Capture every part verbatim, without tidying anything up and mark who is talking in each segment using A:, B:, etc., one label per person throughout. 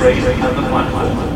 A: train at the platform.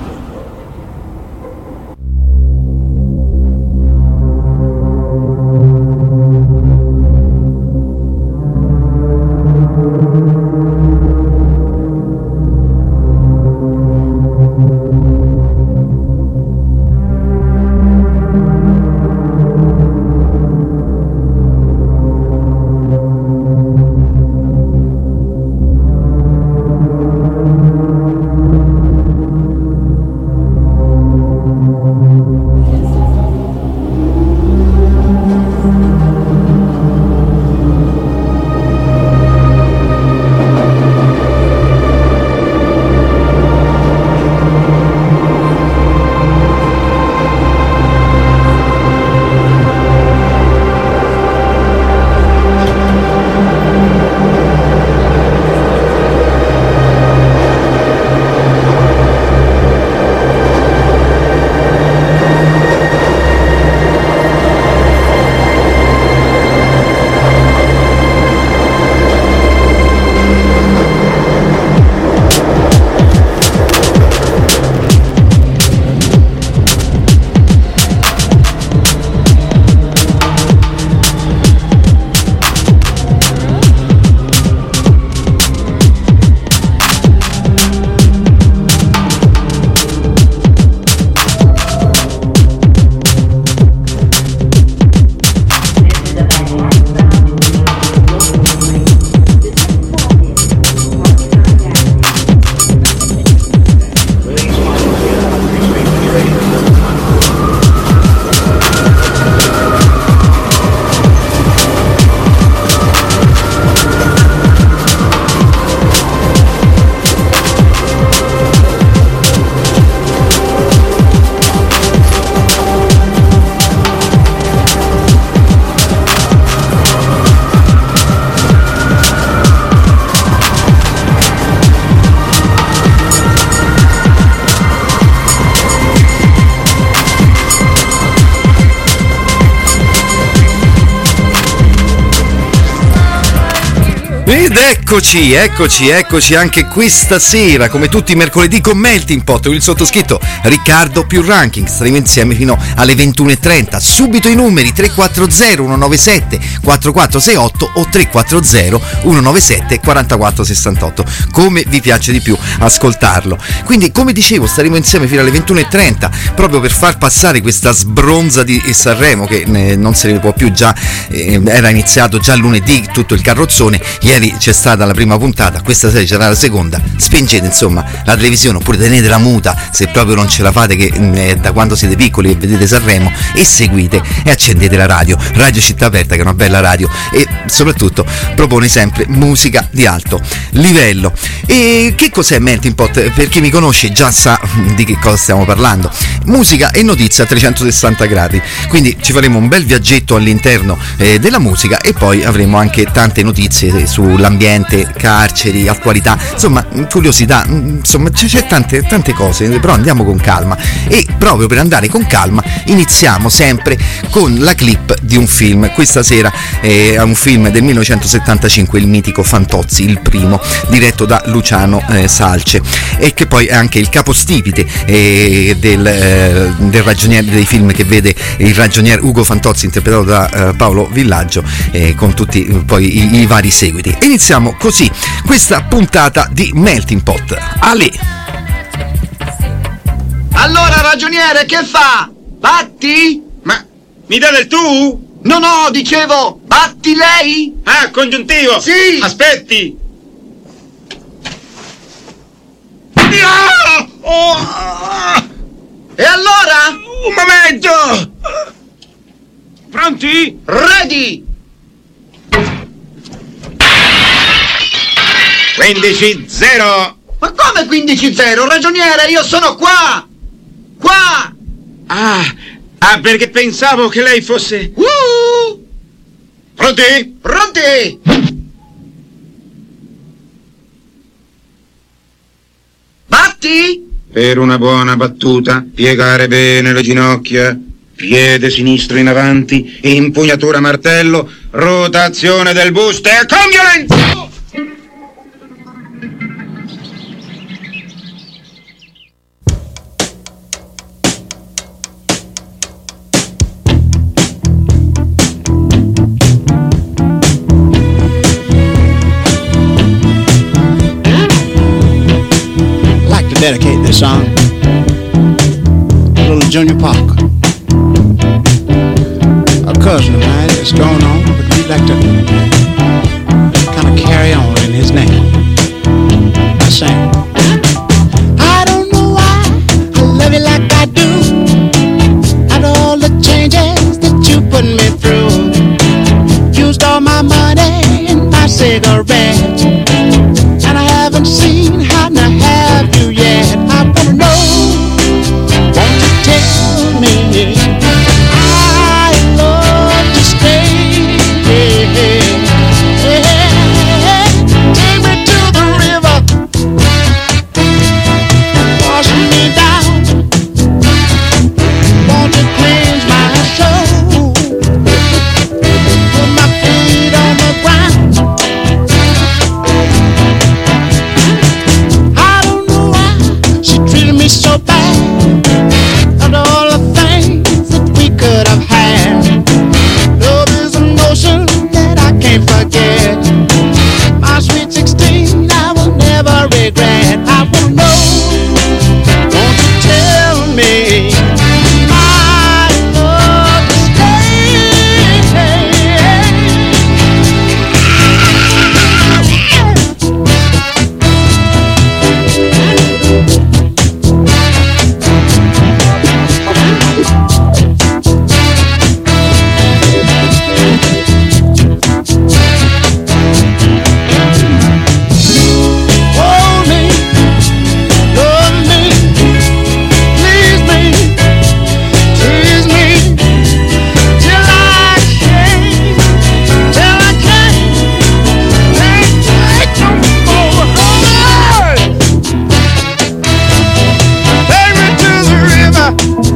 B: Ed eccoci, eccoci, eccoci anche questa sera, come tutti i mercoledì, con Melting Pot, il sottoscritto Riccardo più Ranking. Staremo insieme fino alle ventuno e trenta. Subito i numeri: tre quattro zero uno nove sette quattro quattro sei otto o tre quattro zero uno nove sette quattro quattro sei otto, come vi piace di più ascoltarlo. Quindi, come dicevo, staremo insieme fino alle ventuno e trenta, proprio per far passare questa sbronza di Sanremo, che eh, non se ne può più. Già eh, era iniziato già lunedì tutto il carrozzone, ieri c'è stata la prima puntata, questa sera c'era la seconda. Spengete insomma la televisione, oppure tenetela muta se proprio non ce la fate, che eh, da quando siete piccoli e vedete Sanremo, e seguite e accendete la radio, Radio Città Aperta, che è una bella radio e soprattutto propone sempre musica di alto livello. E che cos'è Melting Pot? Per chi mi conosce già sa di che cosa stiamo parlando: musica e notizia a trecentosessanta gradi. Quindi ci faremo un bel viaggetto all'interno eh, della musica, e poi avremo anche tante notizie sull'ambiente, carceri, attualità, insomma curiosità, insomma c'è, c'è tante, tante cose, però andiamo con calma. E proprio per andare con calma iniziamo sempre con la clip di un film. Questa sera è un film del millenovecentosettantacinque, il mitico Fantozzi, il primo, diretto da Luciano eh, Salce, e che poi è anche il capostipite eh, del, eh, del ragioniere, dei film che vede il ragioniere Ugo Fantozzi, interpretato da eh, Paolo Villaggio, eh, con tutti eh, poi i, i vari seguiti. Iniziamo così questa puntata di Melting Pot. Ale!
C: Allora, ragioniere, che fa? Batti?
D: Ma mi dà del tu?
C: No, no, dicevo, batti lei?
D: Ah, congiuntivo!
C: Sì!
D: Aspetti!
C: Ah!
D: Oh!
C: E allora?
D: Un momento! Pronti?
C: Ready!
D: quindici zero!
C: Ma come quindici zero? Ragioniere, io sono qua! Qua!
D: Ah, ah, perché pensavo che lei fosse...
C: Uh!
D: Pronti?
C: Pronti! Batti!
D: Per una buona battuta, piegare bene le ginocchia, piede sinistro in avanti, impugnatura martello, rotazione del busto e con violenza!
A: dedicate this song to little Junior Parker, a cousin of mine that's going on, but he'd like to kind of carry on in his name. I sing. I don't know why I love you like I do, and all the changes that you put me through. Used all my money and my cigarettes, and I haven't seen how to have you yet. I wanna know, won't you tell me I love to stay? Take me to the river, wash me down. Won't you cleanse my soul? Put my feet on the ground. I don't know why she treated me so bad, and all the things that we could have had. Love is an ocean that I can't forget. My sweet sixteen, I will never regret. I wanna know, won't you tell me I love to stay? Hold me, love me, please me, tease me, till I can't, till I can't, can't take no more. Take me to the river.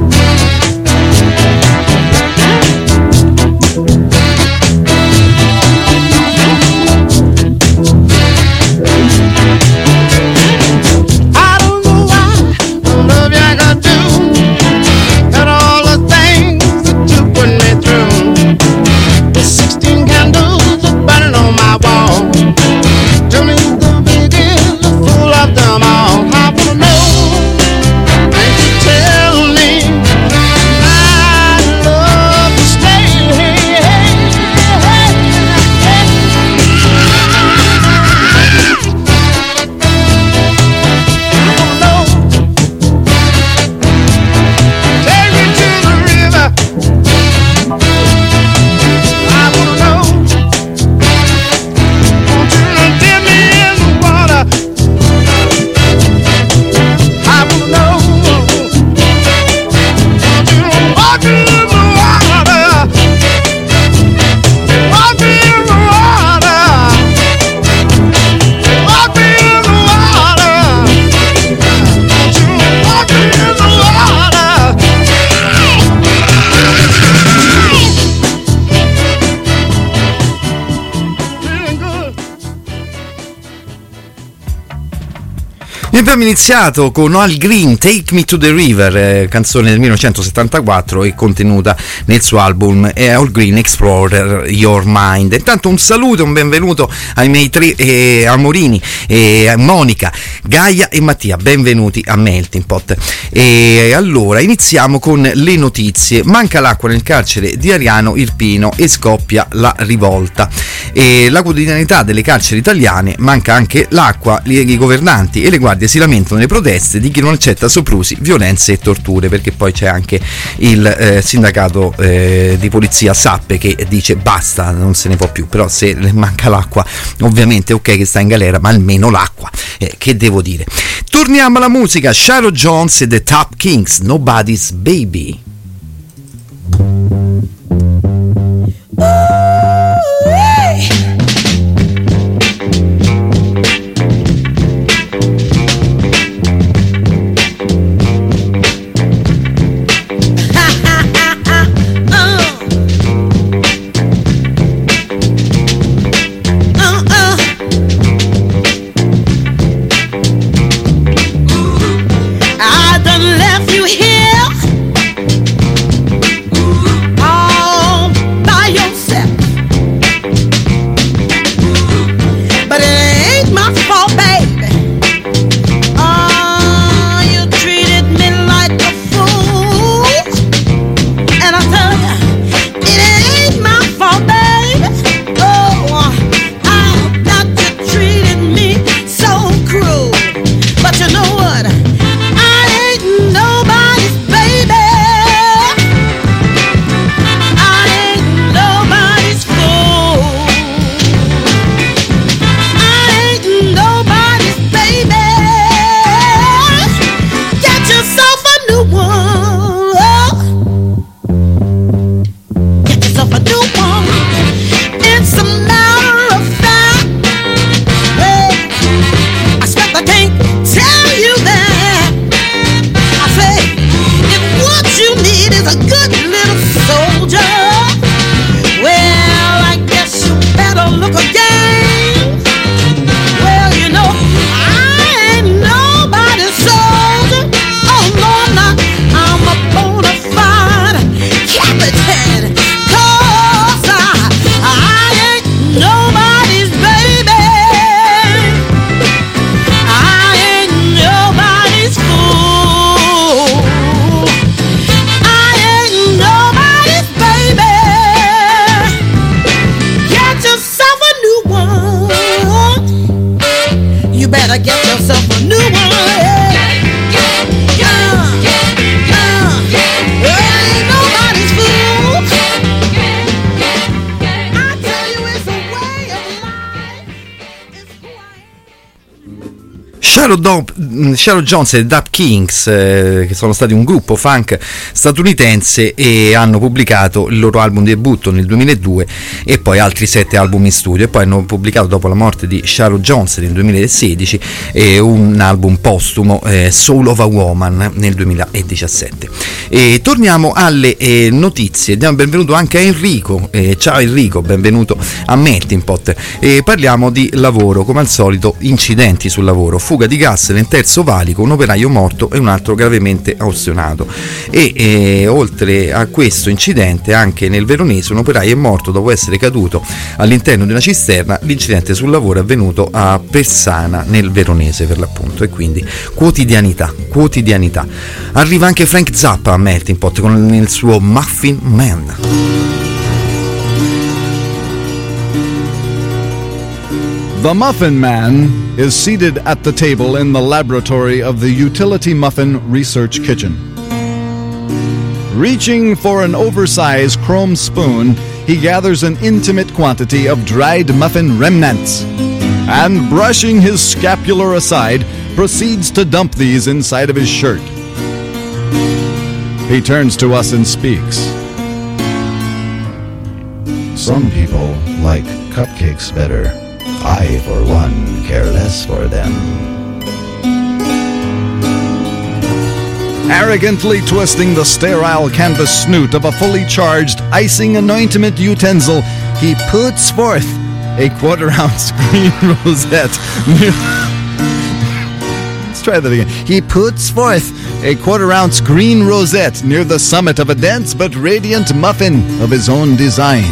A: I don't know why I love you like I do, and all the things that you put me through. The sixteen candles are burning on my wall. Tell me the biggest, the fool of them all. I wanna know, won't you tell me I love to stay? I wanna know, take me to the river. I wanna know, won't you dip me in the water? I wanna know, won't you walk me in the water? Walk me in the water. Walk me in the water. Won't you walk me in the water? Feeling good.
B: E abbiamo iniziato con Al Green, Take Me to the River, eh, canzone del millenovecentosettantaquattro e contenuta nel suo album eh, Al Green Explorer Your Mind. Intanto un saluto e un benvenuto ai miei tre eh, amorini, eh, Monica, Gaia e Mattia, benvenuti a Melting Pot. E allora iniziamo con le notizie. Manca l'acqua nel carcere di Ariano Irpino e scoppia la rivolta. E la quotidianità delle carceri italiane, manca anche l'acqua, i governanti e le guardie si lamentano delle proteste di chi non accetta soprusi, violenze e torture, perché poi c'è anche il eh, sindacato eh, di polizia Sappe che dice basta, non se ne può più. Però se manca l'acqua, ovviamente ok che sta in galera, ma almeno l'acqua, eh, che devo dire. Torniamo alla musica. Sharon Jones e The Top Kings, Nobody's Baby.
E: I done left you here get yourself a new one. Yeah, yeah, yeah, yeah, yeah, yeah. Well, ain't nobody's fool. Yeah, yeah, yeah, I tell you, it's a way of life. It's who I am.
B: Shadow, Do- Shadow Jones e Dap Kings, eh, che sono stati un gruppo funk statunitense e hanno pubblicato il loro album debutto nel duemiladue e poi altri sette album in studio, e poi hanno pubblicato dopo la morte di Shadow Jones nel duemilasedici eh, un album postumo, eh, Soul of a Woman, nel duemiladiciassette. E torniamo alle eh, notizie. Diamo benvenuto anche a Enrico. Eh, ciao Enrico, benvenuto a Melting Pot. E parliamo di lavoro, come al solito incidenti sul lavoro, fuga di gas nel terzo valico, un operaio morto e un altro gravemente austionato. E eh, oltre a questo incidente, anche nel Veronese un operaio è morto dopo essere caduto all'interno di una cisterna. L'incidente sul lavoro è avvenuto a Persana, nel Veronese per l'appunto. E quindi quotidianità, quotidianità. Arriva anche Frank Zappa a Melting Pot con il suo Muffin Man.
F: The Muffin Man is seated at the table in the laboratory of the Utility Muffin Research Kitchen. Reaching for an oversized chrome spoon, he gathers an intimate quantity of dried muffin remnants and, brushing his scapular aside, proceeds to dump these inside of his shirt. He turns to us and speaks.
G: Some people like cupcakes better. I, for one, care less for them.
F: Arrogantly twisting the sterile canvas snoot of a fully charged icing anointment utensil, he puts forth a quarter-ounce green rosette. Let's try that again. He puts forth a quarter-ounce green rosette near the summit of a dense but radiant muffin of his own design.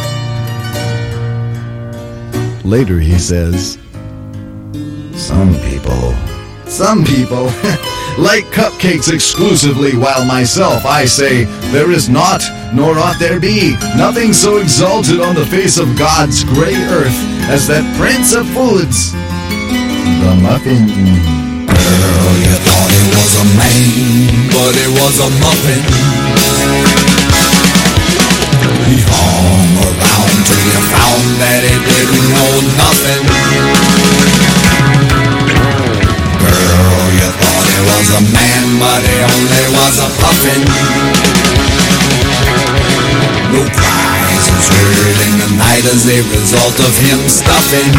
F: Later he says,
G: Some people,
F: some people like cupcakes exclusively, while myself, I say, there is not, nor ought there be, nothing so exalted on the face of God's grey earth as that prince of foods, the muffin.
H: Girl, you thought it was a man, but it was a muffin. He hung around till you found that it didn't know nothing. Girl, you thought it was a man, but it only was a puffin. No cries was heard in the night as a result of him stuffing.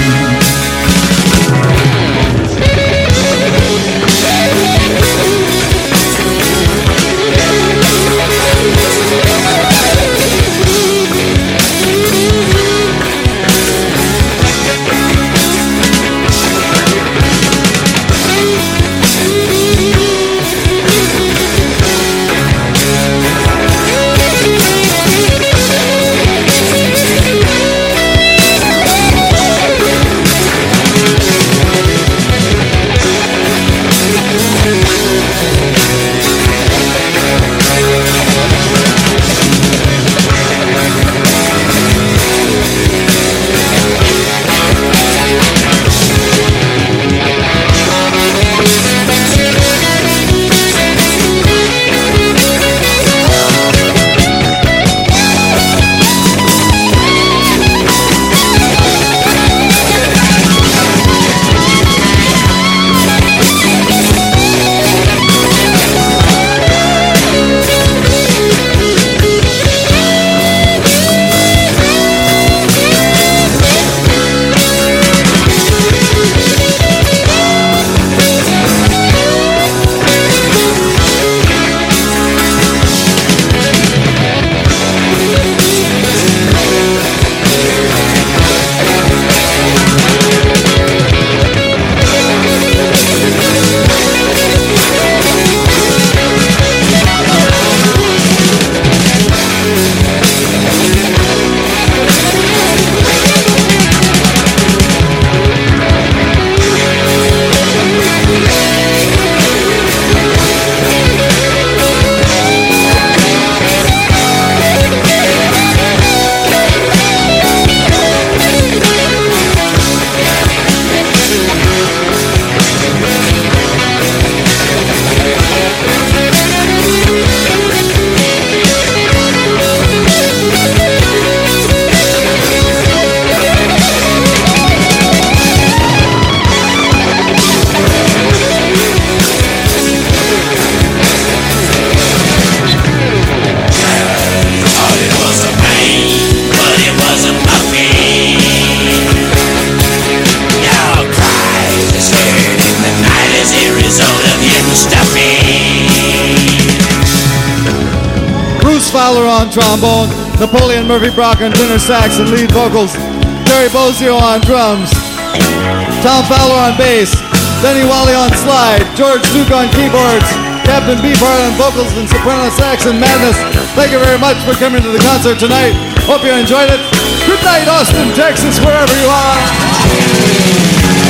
I: Fowler on trombone, Napoleon Murphy Brock on tenor sax and lead vocals, Terry Bozio on drums, Tom Fowler on bass, Denny Wally on slide, George Duke on keyboards, Captain Beefheart on vocals and soprano sax and madness. Thank you very much for coming to the concert tonight. Hope you enjoyed it. Good night, Austin, Texas, wherever you are.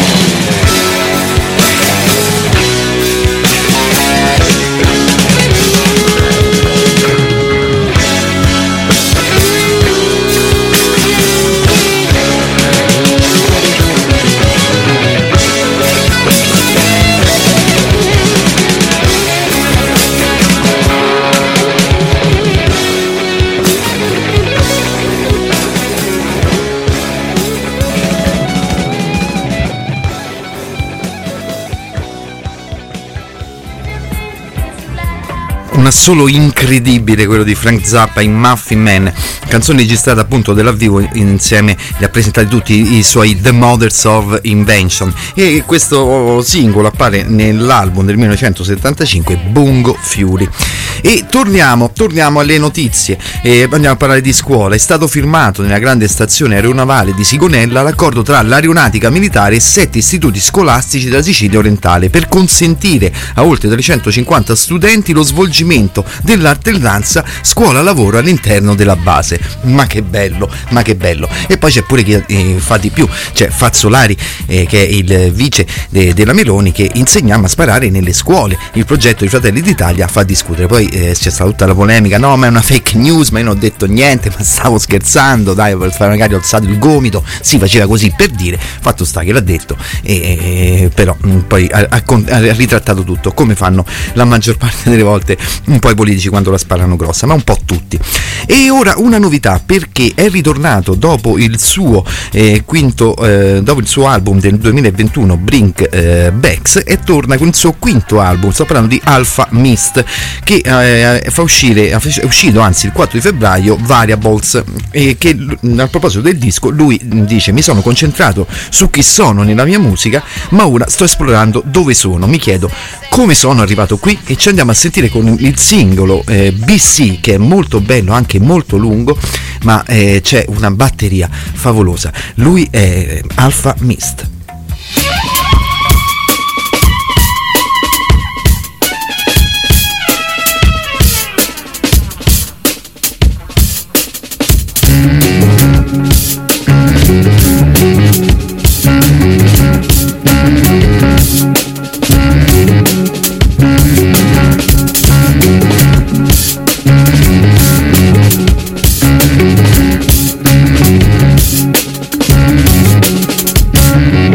B: Un assolo incredibile quello di Frank Zappa in Muffin Man, canzone registrata appunto dal vivo, insieme li ha presentati tutti i suoi The Mothers of Invention, e questo singolo appare nell'album del millenovecentosettantacinque Bungo Fury. E torniamo, torniamo alle notizie, e andiamo a parlare di scuola. È stato firmato nella grande stazione aeronavale di Sigonella l'accordo tra l'aeronautica militare e sette istituti scolastici della Sicilia orientale per consentire a oltre trecentocinquanta studenti lo svolgimento dell'alternanza scuola-lavoro all'interno della base. Ma che bello, ma che bello. E poi c'è pure chi eh, fa di più, c'è Fazzolari eh, che è il vice de- della Meloni, che insegniamo a sparare nelle scuole. Il progetto di Fratelli d'Italia fa discutere. Poi eh, c'è stata tutta la polemica, no ma è una fake news, ma io non ho detto niente, ma stavo scherzando, dai, per fare magari ho alzato il gomito, si faceva così per dire, fatto sta che l'ha detto, e, e, però mh, poi ha, ha, ha ritrattato tutto, come fanno la maggior parte delle volte un po' i politici quando la sparano grossa, ma un po' tutti. E ora una novità, perché è ritornato dopo il suo eh, quinto eh, dopo il suo album del duemilaventuno Brink eh, Backs, e torna con il suo quinto album. Sto parlando di Alpha Mist, che eh, fa uscire è uscito anzi il quattro di febbraio Variables, e che a proposito del disco lui dice: mi sono concentrato su chi sono nella mia musica, ma ora sto esplorando dove sono, mi chiedo come sono arrivato qui, e ci andiamo a sentire con il singolo eh, B C, che è molto bello, anche molto lungo, ma eh, c'è una batteria favolosa. Lui è Alpha Mist.
J: Thank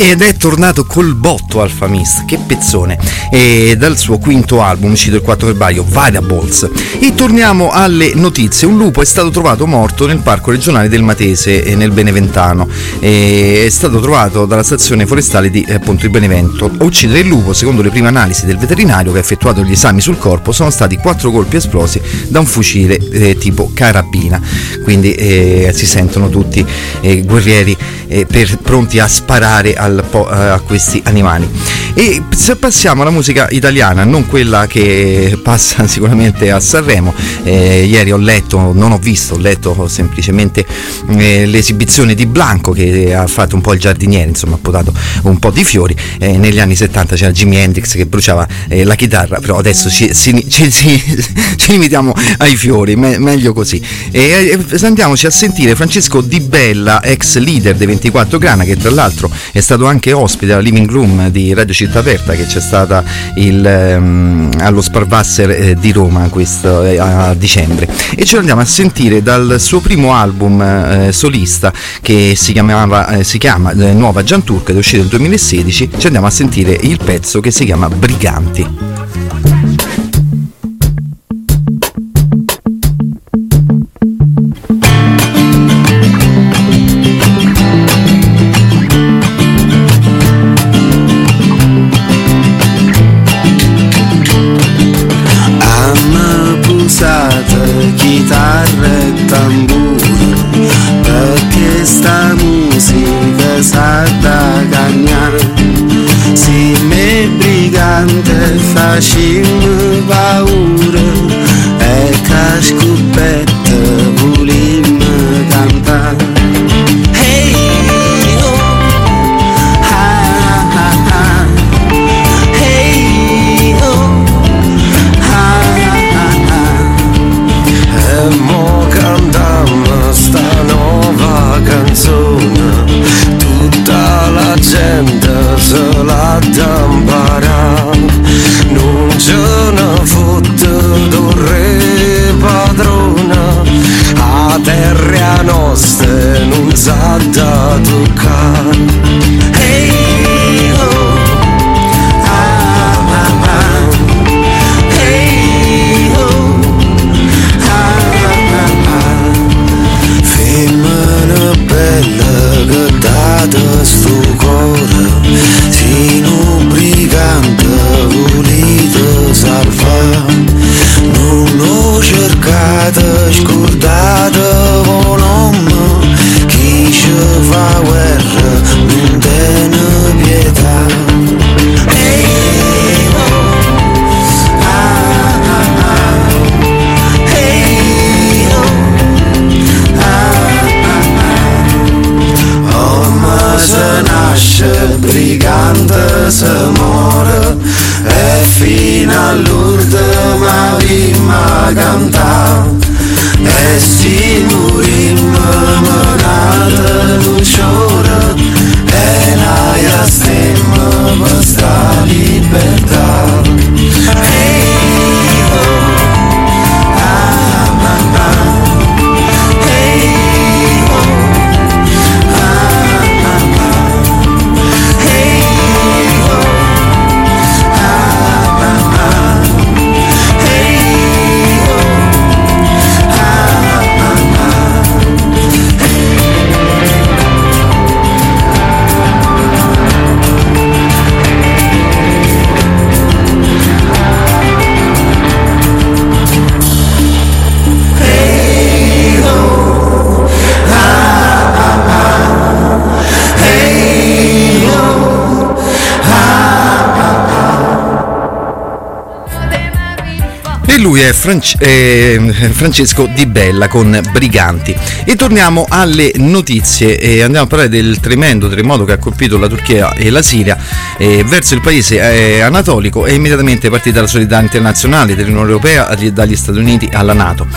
B: Ed è tornato col botto Alfa Mist, che pezzone, e dal suo quinto album uscito il quattro febbraio, Variables. E torniamo alle notizie. Un lupo è stato trovato morto nel parco regionale del Matese, nel Beneventano, e è stato trovato dalla stazione forestale di appunto il Benevento. A uccidere il lupo, secondo le prime analisi del veterinario che ha effettuato gli esami sul corpo, sono stati quattro colpi esplosi da un fucile eh, tipo carabina, quindi eh, si sentono tutti eh, guerrieri eh, per, pronti a sparare al po- a questi animali. E se passiamo alla musica italiana, non quella che passa sicuramente a Sanremo, eh, ieri ho letto, non ho visto, ho letto semplicemente eh, l'esibizione di Blanco, che ha fatto un po' il giardiniere, insomma ha potato un po' di fiori. Eh, negli anni settanta c'era Jimi Hendrix che bruciava eh, la chitarra, però adesso ci, ci, ci, ci, ci limitiamo ai fiori, me, meglio così. E eh, andiamoci a sentire Francesco Di Bella, ex leader dei ventiquattro Grana, che tra l'altro è stato anche ospite alla Living Room di Radio Città Aperta, che c'è stata il, um, allo Sparvasser eh, di Roma questo, eh, a dicembre, e ce lo andiamo a sentire dal suo primo album eh, solista, che si chiamava eh, si chiama eh, Nuova Gianturca, ed è uscito nel duemilasedici. Ci andiamo a sentire il pezzo che si chiama Briganti.
J: Chitarra e tamburo, perché sta musica sa da cagnare. Se me brigante facciamo paura, e che scoperta volimmo cantare. Hey, oh, ah, ah, ah. Hey, oh, e mo cantammo sta nuova canzone, tutta la gente se la da imparare. Non ce ne fotte d'un re padrona, a terra nostra non s'ha da toccare. Hey, oh, ah, ah, ah. Hey, oh, femmina bella che date sto cuore, sino brigante volete salvare. Non lo cercate, scordate un nome, chi ci fa guerra non tiene pietà. Hey, oh, ah, ah, ah. Hey, oh, ma se nasce brigante, se muore, e fino all'ultima vimma cantare. E si morimmo menate l'usciore, e noi stemmo per sta libertà. Hey, oh, ah, ah, ah. Hey, oh, ah, ah, ah. Hey, oh, ah, ah, ah. Hey, oh, ah, ah, ah.
B: E lui è France- eh, Francesco Di Bella con Briganti. E torniamo alle notizie e andiamo a parlare del tremendo terremoto che ha colpito la Turchia e la Siria. Eh, verso il paese eh, anatolico è immediatamente partita la solidarietà internazionale dell'Unione Europea dagli Stati Uniti alla NATO.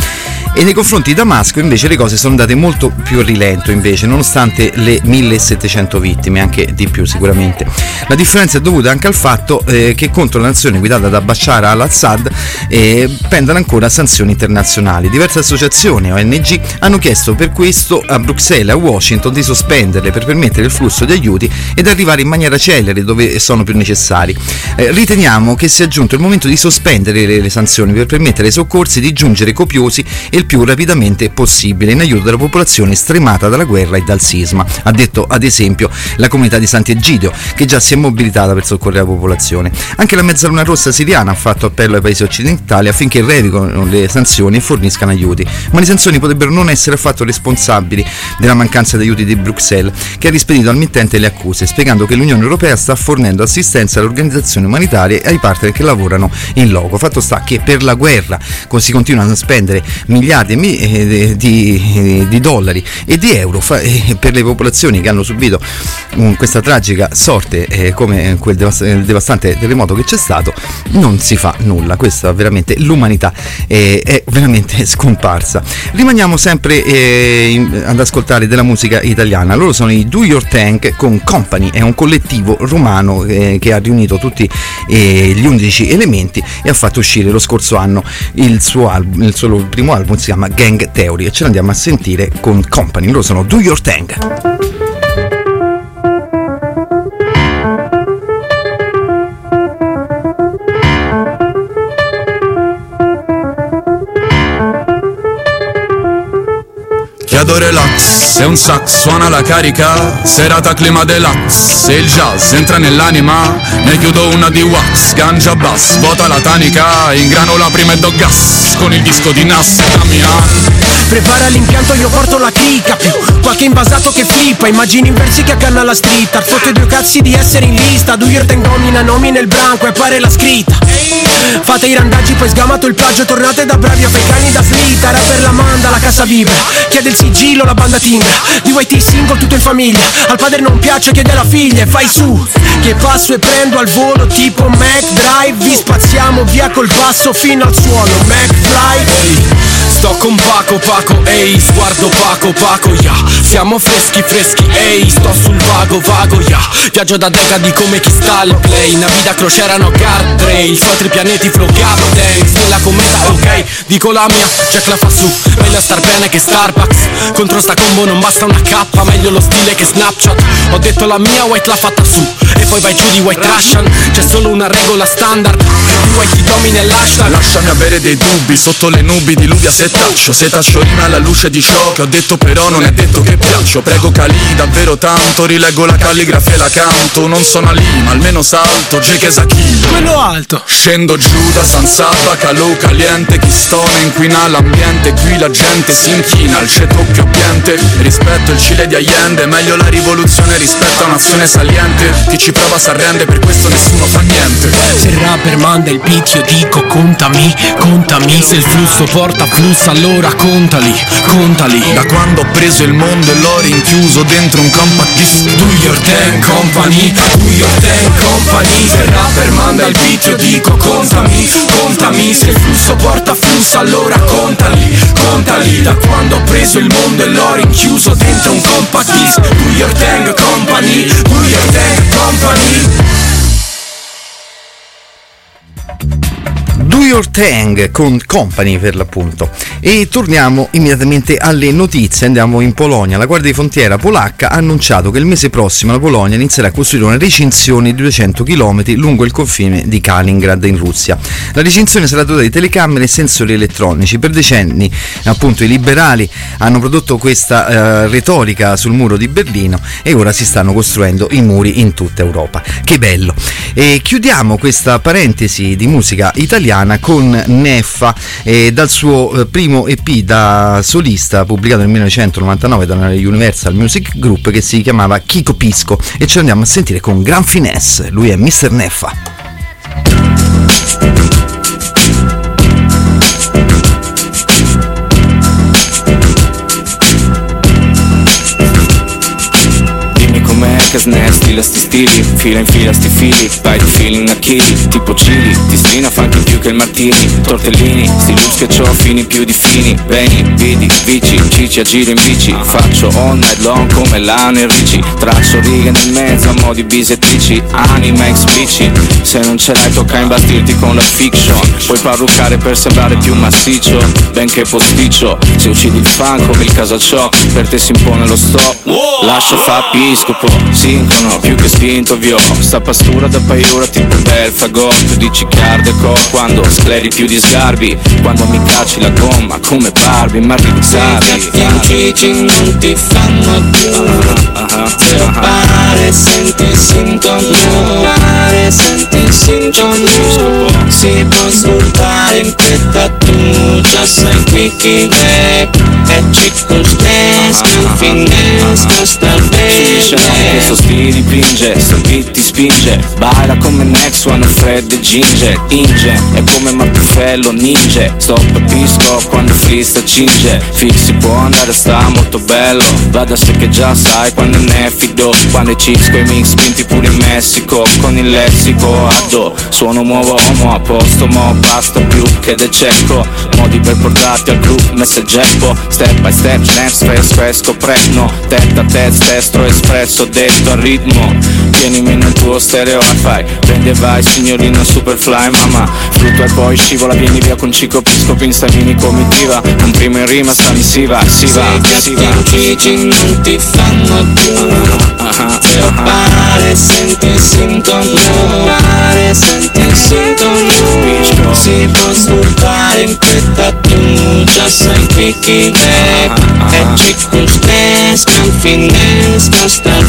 B: E nei confronti di Damasco invece le cose sono andate molto più a rilento invece, nonostante le millesettecento vittime, anche di più sicuramente. La differenza è dovuta anche al fatto eh, che contro la nazione guidata da Bashar al-Assad eh, pendono ancora sanzioni internazionali. Diverse associazioni O N G hanno chiesto per questo a Bruxelles e a Washington di sospenderle per permettere il flusso di aiuti ed arrivare in maniera celere dove sono più necessari. Eh, riteniamo che sia giunto il momento di sospendere le, le sanzioni per permettere ai soccorsi di giungere copiosi e il più rapidamente possibile in aiuto della popolazione stremata dalla guerra e dal sisma, ha detto ad esempio la comunità di Sant'Egidio, che già si è mobilitata per soccorrere la popolazione. Anche la Mezzaluna Rossa siriana ha fatto appello ai paesi occidentali affinché revochino le sanzioni e forniscano aiuti, ma le sanzioni potrebbero non essere affatto responsabili della mancanza di aiuti di Bruxelles, che ha rispedito al mittente le accuse, spiegando che l'Unione Europea sta fornendo assistenza alle organizzazioni umanitarie e ai partner che lavorano in loco. Fatto sta che per la guerra si continuano a spendere miliardi di, di, di dollari e di euro fa, e per le popolazioni che hanno subito um, questa tragica sorte eh, come quel devast- devastante terremoto che c'è stato, non si fa nulla. Questa veramente l'umanità eh, è veramente scomparsa. Rimaniamo sempre eh, in, ad ascoltare della musica italiana. Loro sono i Do Your Thing con Company, è un collettivo romano eh, che ha riunito tutti eh, gli undici elementi e ha fatto uscire lo scorso anno il suo album, il suo primo album si chiama Gang Theory, e ce l'andiamo a sentire con Company. Loro sono Do Your Thing.
K: Chiedo relax, e un sax suona la carica, serata clima deluxe, e il jazz entra nell'anima, ne chiudo una di wax, ganja bass, vuota la tanica, ingrano la prima e do gas, con il disco di Nas e Damian.
L: Prepara l'impianto, io porto la chicca, più qualche invasato che flippa, immagini inversi che accanna la street, art fotte due cazzi di essere in lista, Do Your Thing domina nomi nel branco e appare la scritta. Fate i randaggi, poi sgamato il plagio, tornate da bravi africani da slitta, rapper la manda, la cassa vibra, chiede il sigillo, la banda timbra, D Y T single tutto in famiglia, al padre non piace, chiede alla figlia e vai su, che passo e prendo al volo tipo Mac Drive, vi spaziamo via col passo fino al suolo, Mac Fly.
K: Sto con Paco, Paco, ehi, sguardo Paco, Paco, ya yeah. Siamo freschi, freschi, ehi, sto sul vago, vago, ya yeah. Viaggio da decadi come chi sta al play, una vita crociera, no guardrail, su altri pianeti flow dance, nella cometa, ok, dico la mia, Jack la fa su, meglio star bene che Starbucks, contro sta combo non basta una K, meglio lo stile che Snapchat, ho detto la mia, White l'ha fatta su, e poi vai giù di White Russian, c'è solo una regola standard, di White ti domina l'hashtag. Lasciami avere dei dubbi, sotto le nubi di Luvia setaccio, se taccio rima alla luce di ciò che ho detto, però non è detto che piaccio, prego Cali davvero tanto, rileggo la calligrafia e la canto, non sono lì ma almeno salto, J K Sakilo,
L: quello alto,
K: scendo giù da San Saba, calò caliente, chi stona inquina l'ambiente, qui la gente si inchina al ceto più ambiente, rispetto il Cile di Allende, meglio la rivoluzione rispetto a un'azione saliente, chi ci prova s'arrende, per questo nessuno fa niente.
L: Se il rapper manda il beat io dico contami, contami, se il flusso porta flusso allora contali, contali.
K: Da quando ho preso il mondo e l'ho rinchiuso dentro un compact disc,
L: Do Your Thing Company, Do Your Thing Company, se il rapper manda il beat io dico contami, contami, se il flusso porta flusso allora contali, contali. Da quando ho preso il mondo e l'ho rinchiuso dentro un compact disc, Do Your Thing Company, Do Your Thing Company.
B: Do Your Thing con Company per l'appunto. E torniamo immediatamente alle notizie, andiamo in Polonia. La Guardia di Frontiera polacca ha annunciato che il mese prossimo la Polonia inizierà a costruire una recinzione di duecento chilometri lungo il confine di Kaliningrad in Russia. La recinzione sarà dotata di telecamere e sensori elettronici. Per decenni appunto i liberali hanno prodotto questa eh, retorica sul muro di Berlino e ora si stanno costruendo i muri in tutta Europa. Che bello! E chiudiamo questa parentesi di musica italiana con Neffa eh, dal suo eh, primo E P da solista pubblicato nel millenovecentonovantanove dalla Universal Music Group, che si chiamava Chico Pisco, e ce l'andiamo a sentire con gran finesse. Lui è mister Neffa.
M: che snesti, la sti stili, fila in fila sti fili, vai di feeling a chili, tipo chili, ti strina funky più che il martini, tortellini, sti looks che c'ho fini più di fini, veni, vidi, vici, cici, agire in bici, faccio all night long come Lano e Ricci, traccio righe nel mezzo a mo' di bisettrici, anima explicit, se non ce l'hai tocca imbastirti con la fiction, puoi parruccare per sembrare più massiccio, benché posticcio, se uccidi il fan come il Casaciò, per te si impone lo stop, lascio fa piscopo, sincrono, più che spinto vio, sta pastura da paiura tipo Belfagor, più di ciccarde co, quando scleri più di sgarbi, quando mi cacci la gomma come Barbie, ma rizzardi,
J: Cici non ti fanno più, zero pare, senti sintomo, pare, senti sintomo, si può svoltare in questa tu, già sai qui chi è, è circostanza, finestra, sta bene,
M: questo stile dipinge, se beat ti spinge, baila come Next One, Fred e Ginger, Inge, è come Martufello, ninja, stop e pisco quando freestyle cinge, fix si può andare, sta molto bello, vada se che già sai quando ne fido, quando i chicks coi mix spinti pure in Messico, con il lessico addo, suono muovo uomo a posto, mo basta più che del cecco, modi per portarti al group, messageppo, step by step, snap, stress, fresco, prepno, testa a testa, testro, espresso, detto al ritmo, tienimi nel tuo stereo hi-fi, prendi e vai signorina superfly, mamma, frutto e poi scivola, vieni via con Cico Pisco, pinstavini comitiva, un primo in rima, sta missiva, si va, si va.
J: Cici non ti fanno più, zero pare, senti sintomo, pare, senti sintomo, si può svoltare in questa tu, già sai qui chi è, è circostanza, finestra, sta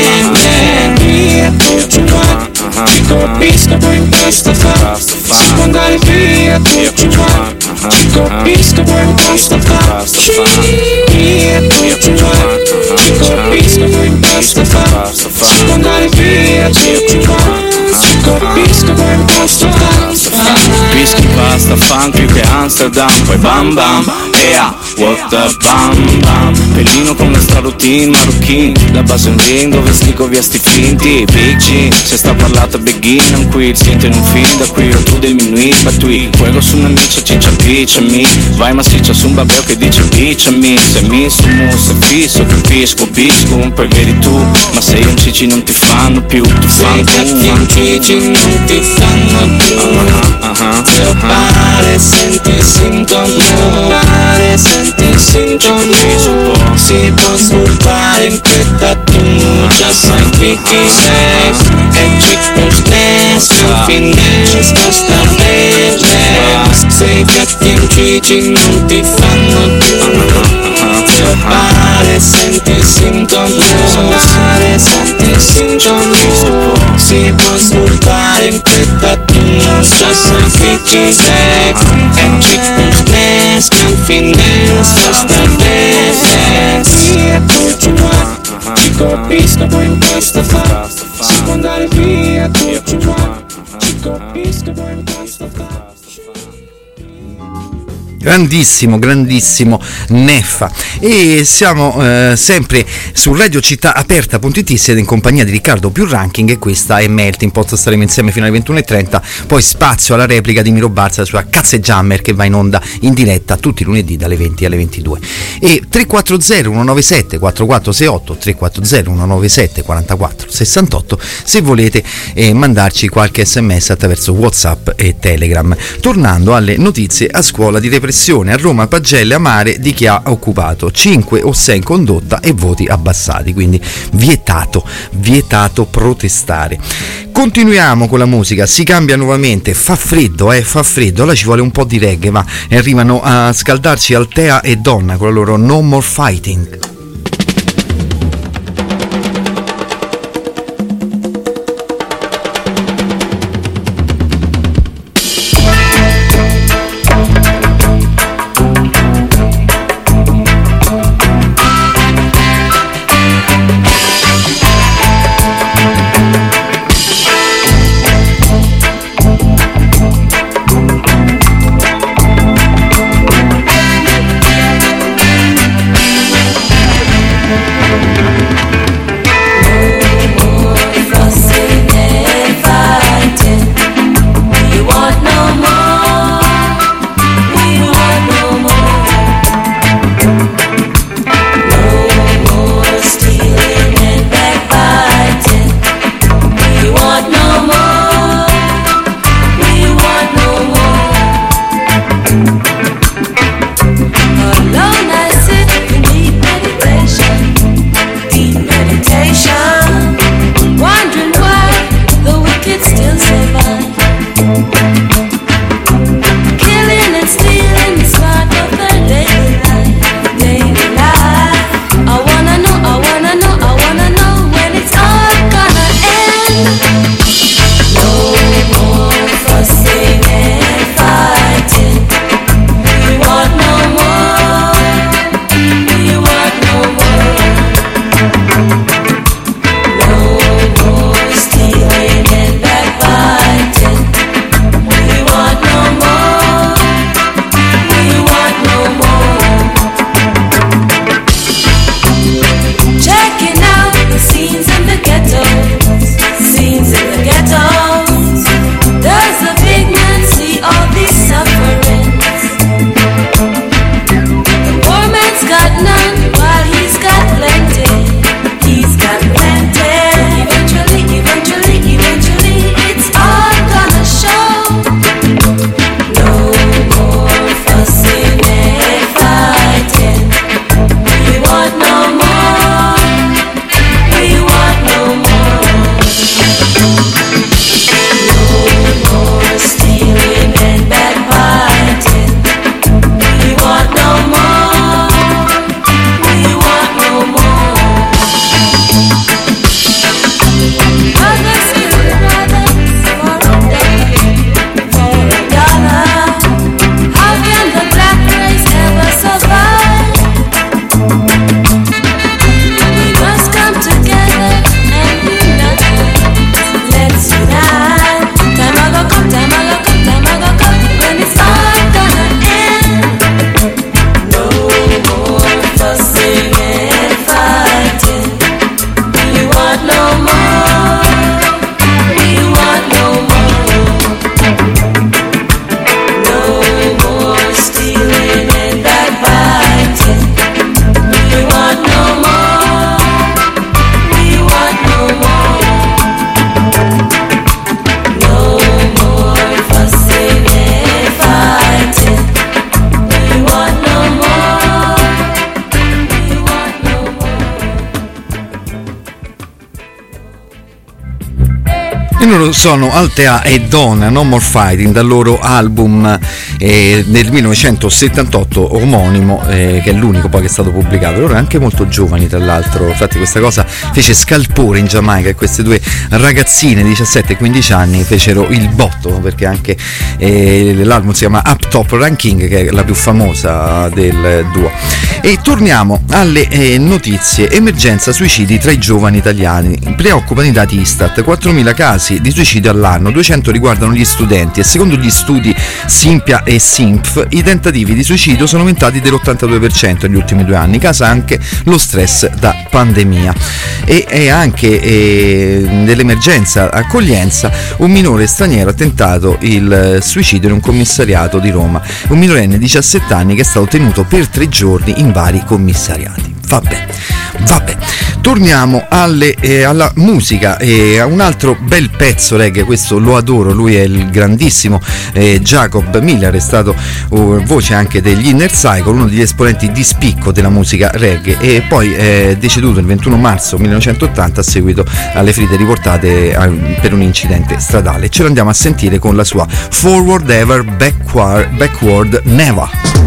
J: bene, via tutto qua, ci colpisco poi in questa fa, si può andare via tutto qua, ci colpisco poi in questa fa, via tutto qua, ci colpisco poi in questa fa, si può andare via tutto qua, ci colpisco poi in questa fa.
M: Whisky, pasta, fan più che Amsterdam, poi bam bam, ea, what the bam bam, pelino con la straroutine, marocchine, la base un ring dove sligo via sti finti, big G, se sta parlata begin, non qui, siente in un film, da qui o tu del minuit, batui, fuego su una miccia, ciccia, picciami, vai massiccia su un babbeo che dice picciami, se mi su muso, fisso, capisco, bisco, poi vedi tu, ma sei un cici non ti fanno più, ti fanno
J: un cici non ti fanno più, zero pare, senti sintomo, pare, senti sintomo, si può svoltare in questa tu, già sai qui chi sei, è circostanza, finestra, sta bene, sei cattivo cici non ti fanno più, zero pare, senti sintomo, pare, senti sintomo, si può svoltare in questa tu, già sai qui chi sei, è circostanza, finestra, sta bene, via tutto qua, ci colpisco poi in questa fa, si può andare via tutto qua, ci colpisco poi in questa fa.
B: Grandissimo, grandissimo Neffa. E siamo eh, sempre su Radio Città Aperta.it, siete in compagnia di Riccardo più Ranking e questa è Melting Pot, staremo insieme fino alle ventuno e trenta, poi spazio alla replica di Miro Barza sulla Cazzeggiammer che va in onda in diretta tutti i lunedì dalle venti alle ventidue. E tre quattro zero uno nove sette quattro quattro sei otto, tre quattro zero uno nove sette quattro quattro sei otto se volete eh, mandarci qualche sms attraverso WhatsApp e Telegram. Tornando alle notizie, a scuola di repressione a Roma, pagelle amare di chi ha occupato cinque o sei in condotta e voti abbassati, quindi vietato, vietato protestare. Continuiamo con la musica, si cambia nuovamente, fa freddo, eh, fa freddo, allora ci vuole un po' di reggae, ma arrivano a scaldarci Altea e Donna con la loro No More Fighting.
J: We'll be right back.
B: Loro sono Altea e Donna, No More Fighting, dal loro album eh, del millenovecentosettantotto omonimo, eh, che è l'unico poi che è stato pubblicato. Loro anche molto giovani, tra l'altro, infatti questa cosa fece scalpore in Giamaica, e queste due ragazzine di diciassette e quindici anni fecero il botto, perché anche eh, l'album si chiama Up Top Ranking, che è la più famosa del duo. E torniamo alle eh, notizie. Emergenza suicidi tra i giovani italiani, preoccupano i dati Istat, quattromila casi di suicidio all'anno, duecento riguardano gli studenti, e secondo gli studi Simpia e Simpf i tentativi di suicidio sono aumentati dell'ottantadue per cento negli ultimi due anni, causa anche lo stress da pandemia. E, e anche eh, nell'emergenza accoglienza un minore straniero ha tentato il suicidio in un commissariato di Roma, un minorenne di diciassette anni che è stato tenuto per tre giorni in vari commissariati. Vabbè, vabbè. Torniamo alle, eh, alla musica, e a un altro bel pezzo reggae, questo lo adoro, lui è il grandissimo eh, Jacob Miller, è stato uh, voce anche degli Inner Cycle, uno degli esponenti di spicco della musica reggae, e poi è deceduto il ventuno marzo millenovecentottanta a seguito alle ferite riportate a, per un incidente stradale. Ce lo andiamo a sentire con la sua Forward Ever, Backward, Backward Never.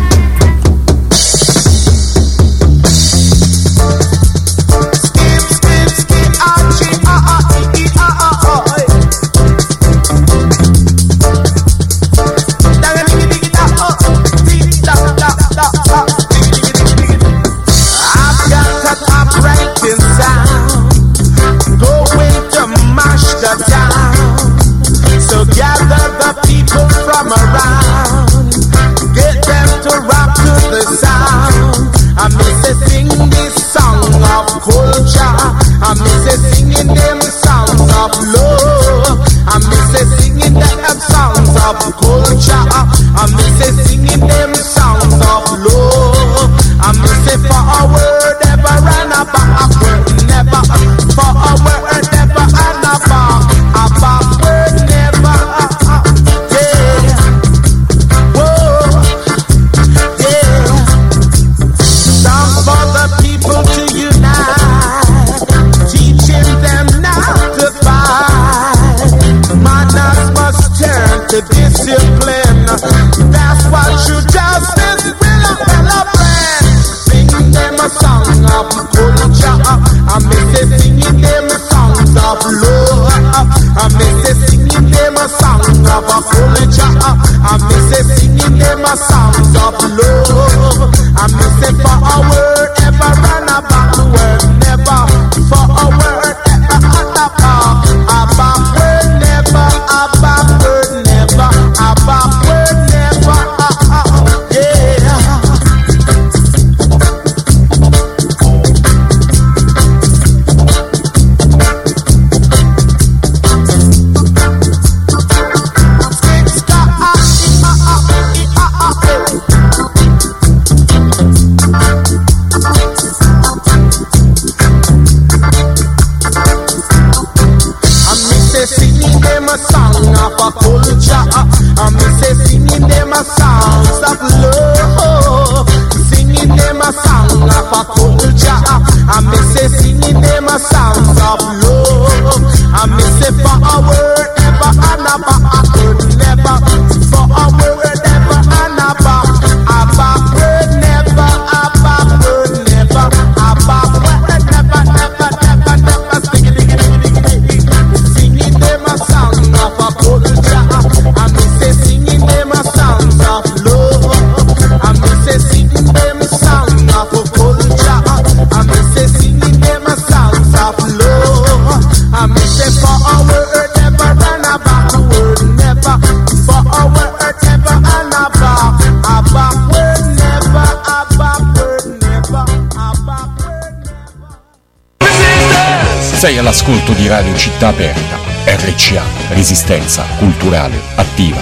N: Sei all'ascolto di Radio Città Aperta, R C A, Resistenza Culturale Attiva.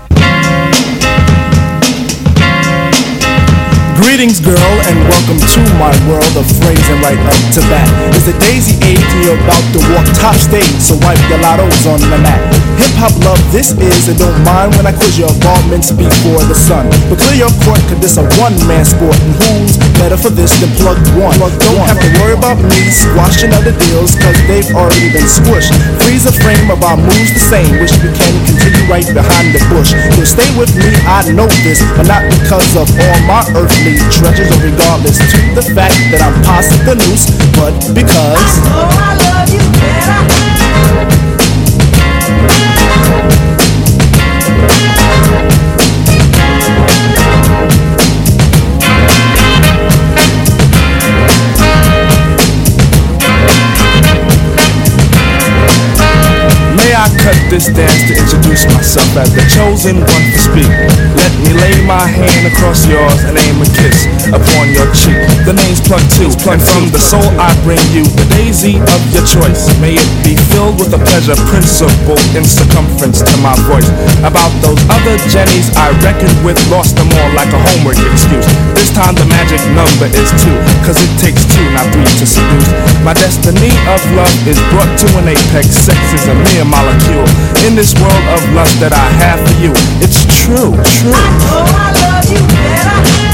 L: Greetings, girl, and welcome to
O: my world of phrasing right up to bat. It's the daisy age and you're about to walk top stage, so wipe your lottos on the mat. Hip hop love this is, and don't mind when I quiz your involvements before the sun. But clear your court, cause this a one man sport, and who's better for this than plug one? Don't have to worry about me squashing other deals, cause they've already been squished. Freeze a frame of our moves the same, wish we can continue right behind the bush. You'll stay with me, I know this, but not because of all my earthly treasures, or regardless to the fact that I'm past the noose, but because I know I love you better. I cut this dance to introduce myself as the chosen one to speak. Let me lay my hand across yours and aim a kiss upon your cheek. The name's Plug Two, and from the soul I bring you the daisy of your choice. May it be filled with a pleasure principle in circumference to my voice. About those other Jennies I reckoned with, lost them all like a homework excuse. This time the magic number is two, cause it takes two, not three to seduce. My destiny of love is brought to an apex. Sex is a mere molecule in this world of lust that I have for you. It's true, true. I know I love you better.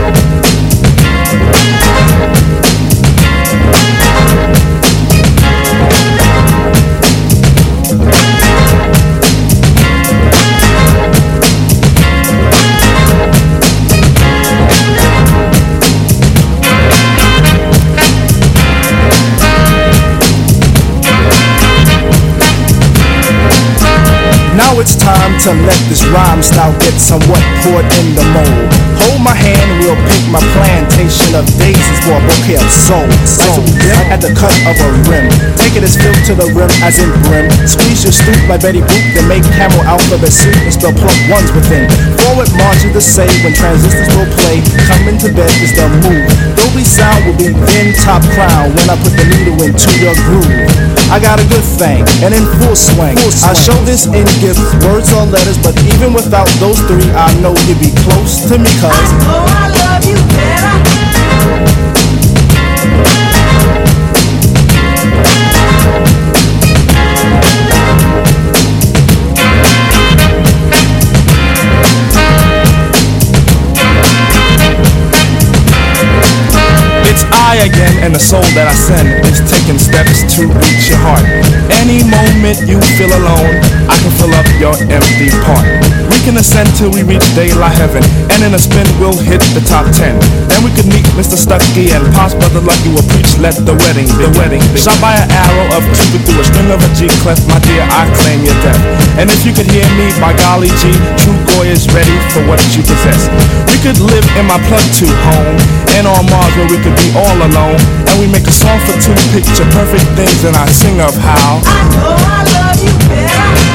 O: Now it's time to let this rhyme style get somewhat poured in the mold. Hold my hand and we'll pick my plantation of daisies for a bouquet of soul. Soul at the cut of a rim. Take it as filled to the rim as in brim. Squeeze your stoop like Betty Boop, then make camel alphabet soup and spell plug ones within. Forward march is the say when transistors will play. Coming to bed is the move. Dolby sound will be in top crown when I put the needle into your groove. I got a good thing and in full swing. Full swing. I show this in gifts, words or letters, but even without those three, I know you'd be close to me, cause I know I love you better. It's I again, and the soul that I send is taking steps to reach your heart. Any moment you feel alone, I can fill up your empty part. We can ascend till we reach daylight heaven, and in a spin we'll hit the top ten. Then we could meet Mister Stucky and Pop's brother Lucky will preach, let the wedding, the wedding be. Shot by an arrow of Cupid through a string of a G clef, my dear, I claim your death. And if you could hear me, by golly G, true boy is ready for what you possess. We could live in my Plug Two home, and on Mars where we could be all alone, and we make a song for two picture perfect things, and I sing of how I know I love you better.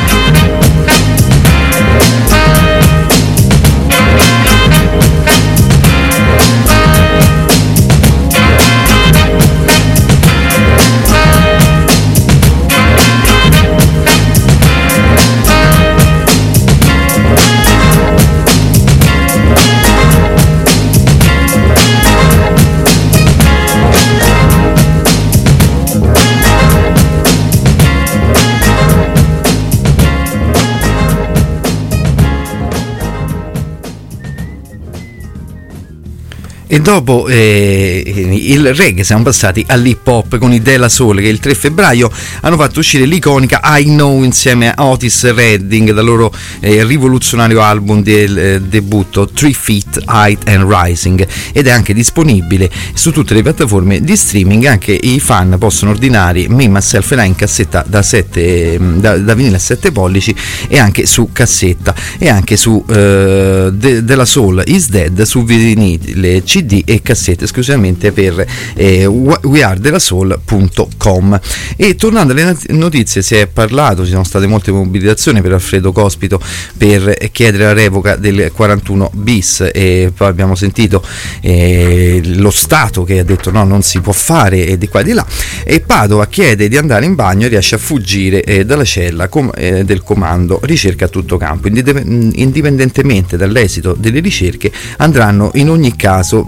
B: E dopo eh, il reggae siamo passati all'hip hop con i De La Soul, che il tre febbraio hanno fatto uscire l'iconica I Know insieme a Otis Redding dal loro eh, rivoluzionario album del eh, debutto Three Feet Height and Rising, ed è anche disponibile su tutte le piattaforme di streaming. Anche i fan possono ordinare Me, Myself and I in cassetta da, sette, da, da vinile a sette pollici, e anche su cassetta, e anche su eh, De, De La Soul Is Dead su vinile, C D e cassette esclusivamente per eh, we are de la soul punto com. E tornando alle notizie, si è parlato, ci sono state molte mobilitazioni per Alfredo Cospito per chiedere la revoca del quarantuno bis, e poi abbiamo sentito eh, lo Stato che ha detto no, non si può fare, e di qua e di là, e Padova chiede di andare in bagno e riesce a fuggire eh, dalla cella com- eh, del comando ricerca a tutto campo. Indipendentemente dall'esito delle ricerche andranno in ogni caso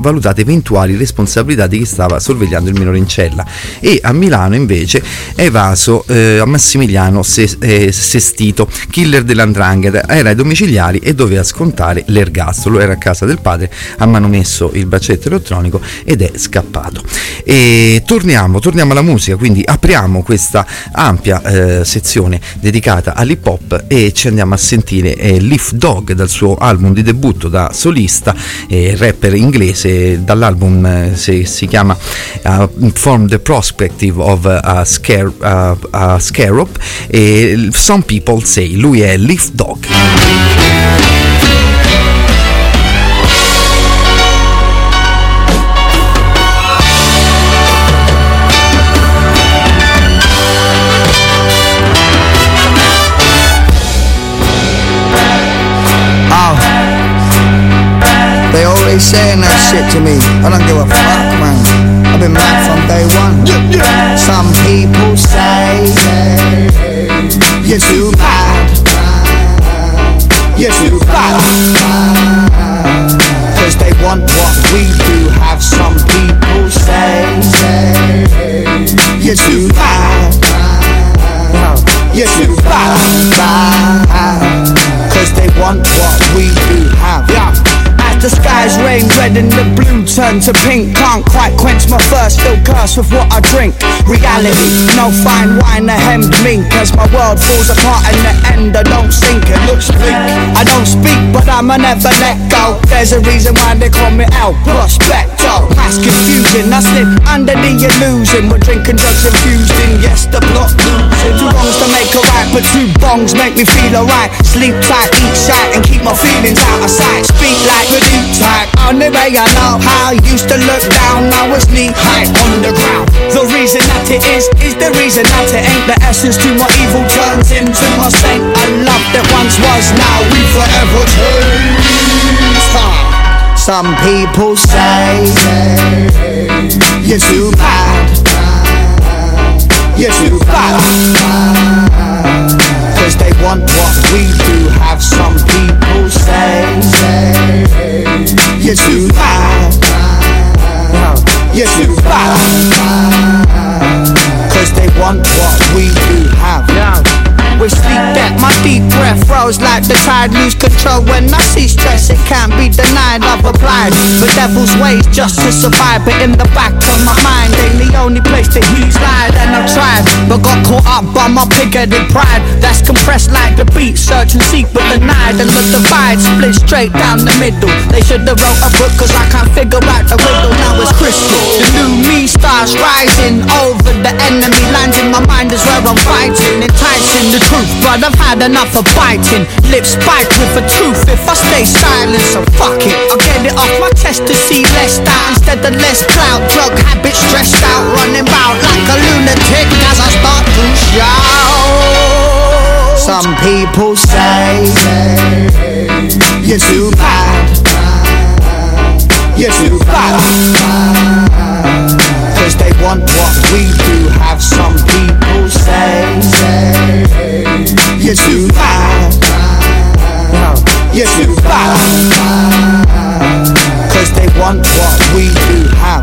B: valutate eventuali responsabilità di chi stava sorvegliando il minore in cella. E a Milano invece è evaso eh, a Massimiliano Se- eh, Sestito, killer dell'Andrangheta, era ai domiciliari e doveva scontare l'ergastolo, era a casa del padre, ha manomesso il braccialetto elettronico ed è scappato. E torniamo, torniamo alla musica, quindi apriamo questa ampia eh, sezione dedicata all'hip hop e ci andiamo a sentire eh, Leaf Dog dal suo album di debutto da solista, eh, rapper inglese, dall'album eh, si, si chiama uh, From the Perspective of a, scare, uh, a Scarab, e Some People Say, lui è Leaf Dog.
P: They always saying that shit to me. I don't give a fuck, man. I've been mad from day one. Some people say you're too bad. You're too bad. Cause they want what we do have. Some people say you're too bad. You're too bad. Cause they want what we do have. Yeah. The skies rain red and the blue turn to pink. Can't quite quench my thirst, still curse with what I drink. Reality, no fine wine, a hemmed mink. As my world falls apart in the end, I don't sink, it looks bleak. I don't speak, but I'ma never let go. There's a reason why they call me El Prospecto. Mass confusion, I slip under the illusion. We're drinking drugs infused in, yes, the plot losing. Two wrongs to make a right, but two bongs make me feel alright. Sleep tight, eat shite, and keep my feelings out of sight. Speak like the type. Only way I know how I used to look down, now it's knee high on the ground. The reason that it is, is the reason that it ain't. The essence to my evil turns into my saint. A love that once was, now we forever change. Some people say you're too bad. You're too bad. Cause they want what we do have. Some people say you're too bad. You're too bad. Cause they want what we do have. With sleep debt, my deep breath rose like the tide. Lose control when I see stress, it can't be denied. I've applied the devil's ways just to survive, but in the back of my mind ain't the only place that he's lied. And I've tried, but got caught up by my pig-headed pride. That's compressed like the beat, search and seek but denied. And the divide split straight down the middle. They should have wrote a book cause I can't figure out the riddle. Now it's crystal, the new me starts rising over the enemy lines. In my mind is where I'm fighting, enticing the truth, but I've had enough of biting. Lips spiked with a tooth if I stay silent, so fuck it. I'll get it off my chest to see less doubt instead of less clout. Drug habit stressed out, running about like a lunatic as I start to shout. Some people say you're too bad. You're too bad. Cause they want what we do have. Some people say you're too bad. You're too bad. Cause they want what we do have.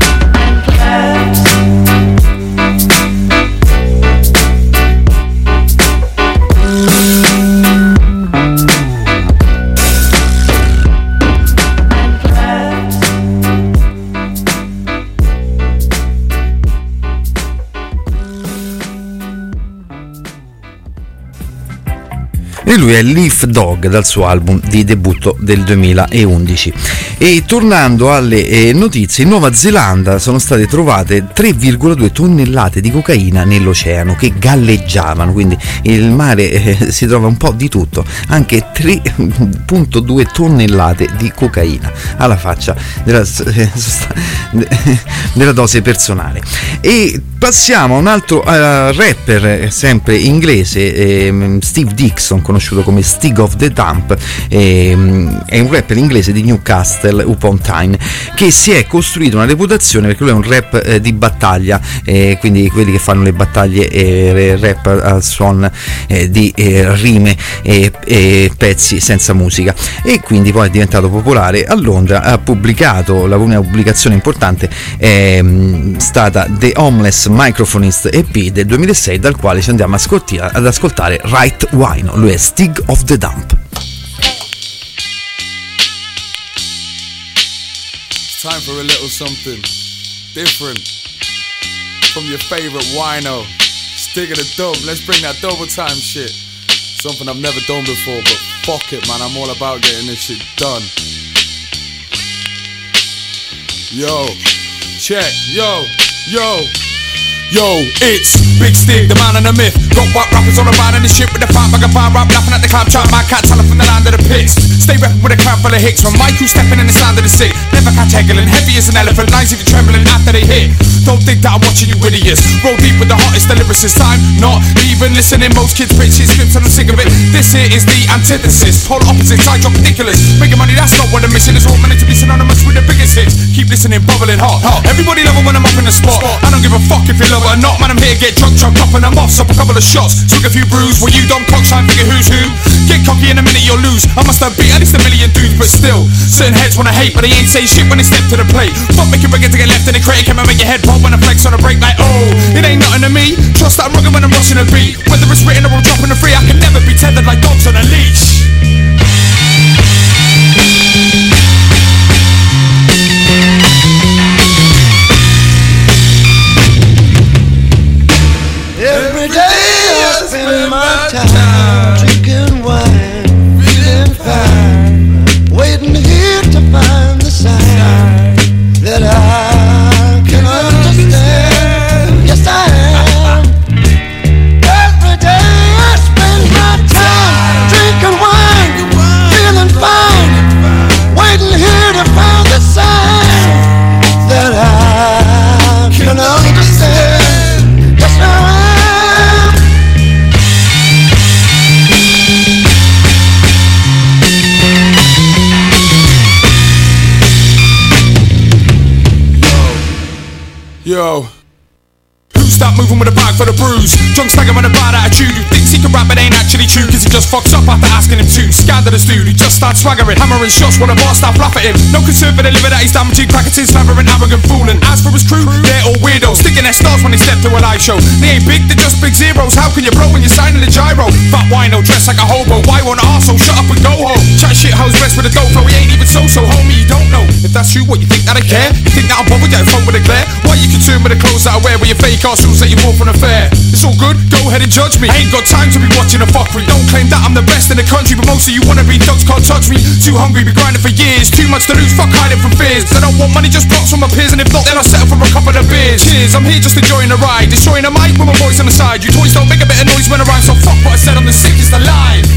B: E lui è Leaf Dog dal suo album di debutto del duemilaundici. E tornando alle eh, notizie, in Nuova Zelanda sono state trovate tre virgola due tonnellate di cocaina nell'oceano che galleggiavano, quindi il mare eh, si trova un po' di tutto, anche tre virgola due tonnellate di cocaina alla faccia della, eh, della dose personale. E passiamo a un altro uh, rapper sempre inglese, eh, Steve Dixon, conosciuto come Stig of the Dump, eh, è un rapper inglese di Newcastle upon Tyne che si è costruito una reputazione perché lui è un rap eh, di battaglia, eh, quindi quelli che fanno le battaglie eh, rap al suon eh, di eh, rime e eh, pezzi senza musica, e quindi poi è diventato popolare. A Londra ha pubblicato, la prima pubblicazione importante è mh, stata The Homeless Microphonist E P del duemilasei, dal quale ci andiamo ad ascoltare Right Wino. Lui è Stig of the Dump.
Q: It's time for a little something different from your favorite wino, Stig of the Dump. Let's bring that double time shit. Something I've never done before, but fuck it, man, I'm all about getting this shit done. Yo, check, yo, yo. Yo, it's Big Stig, the man and the myth. Got white rappers on the ride and the shit with the fight bag of fire rap, laughing at the cloud, trying my cat telling from the land of the pits. Stay rapping with a crowd full of hits, from Michael stepping in the sound of the sick. Never catch heckling, heavy as an elephant, lines even trembling after they hit. Don't think that I'm watching you idiots. Roll deep with the hottest, the lyricist. Time not even listening, most kids bitch shit scripts and I'm sick of it. This here is the antithesis, polar opposites, I drop ridiculous. Making money, that's not what I'm missing. It's all meant to be synonymous with the biggest hits. Keep listening, bubbling hot, hot. Everybody love it when I'm up in the spot. I don't give a fuck if you love it or not, man, I'm here to get drunk, drunk up and I'm off. Stop a couple of shots, took a few brews. Well, you dumb cocks, try and figure who's who. Get cocky in a minute, you'll lose. I must have beat at least a million dudes, but still certain heads wanna hate, but they ain't saying shit when they step to the plate. Fuck making record to get left in the crate. Can I make your head pop when I flex on a break like, oh, it ain't nothing to me. Trust that I'm rugged when I'm rushing a beat. Whether it's written or I'm dropping a free, I can never be tethered like dogs on a leash.
E: Every day I spend my time drinking wine, feeling fine, waiting here to find the sign that I can understand. Yes, I am. Every day I spend my time drinking wine, feeling fine, waiting here to find the sign that I can understand. Yes, I am.
Q: Yo, who stop moving with a bag for the bruise? Drunk stagger with a bad attitude. Who thinks he can rap but ain't actually true, cause he just fucks up after asking him to. Scandalous dude who just starts swaggering, hammering shots when a boss start laugh at him. No concern for the liver that he's damaging, cracking, slavering, arrogant, fooling. As for his crew, they're all weirdos, sticking their stars when they step to a live show. They ain't big, they're just big zeros. How can you blow when you're signing the gyro? Fat wino, dressed like a hobo. Why won't an arsehole shut up and go home? Chat shit, how's rest with a dope flow? He ain't even so-so, homie, you don't know. If that's you, what, you think that I care? You think that I'm bothered, get a phone with a glare? Why you concerned with the clothes that I wear, with your fake arse shoes that you wore from the fair? It's all good, go ahead and judge me. I ain't got time to be watching a fuckery. Don't claim that I'm the best in the country, but most of you wanna be thugs can't touch me. Too hungry, be grinding for years. Too much to lose, fuck hiding from fears. I don't want money, just props from my peers, and if not, then I'll settle for a couple of beers. Cheers, I'm here just enjoying the ride, destroying the mic with my voice on the side. You toys don't make a bit of noise when I rhyme, so fuck what I said, I'm the sickest alive.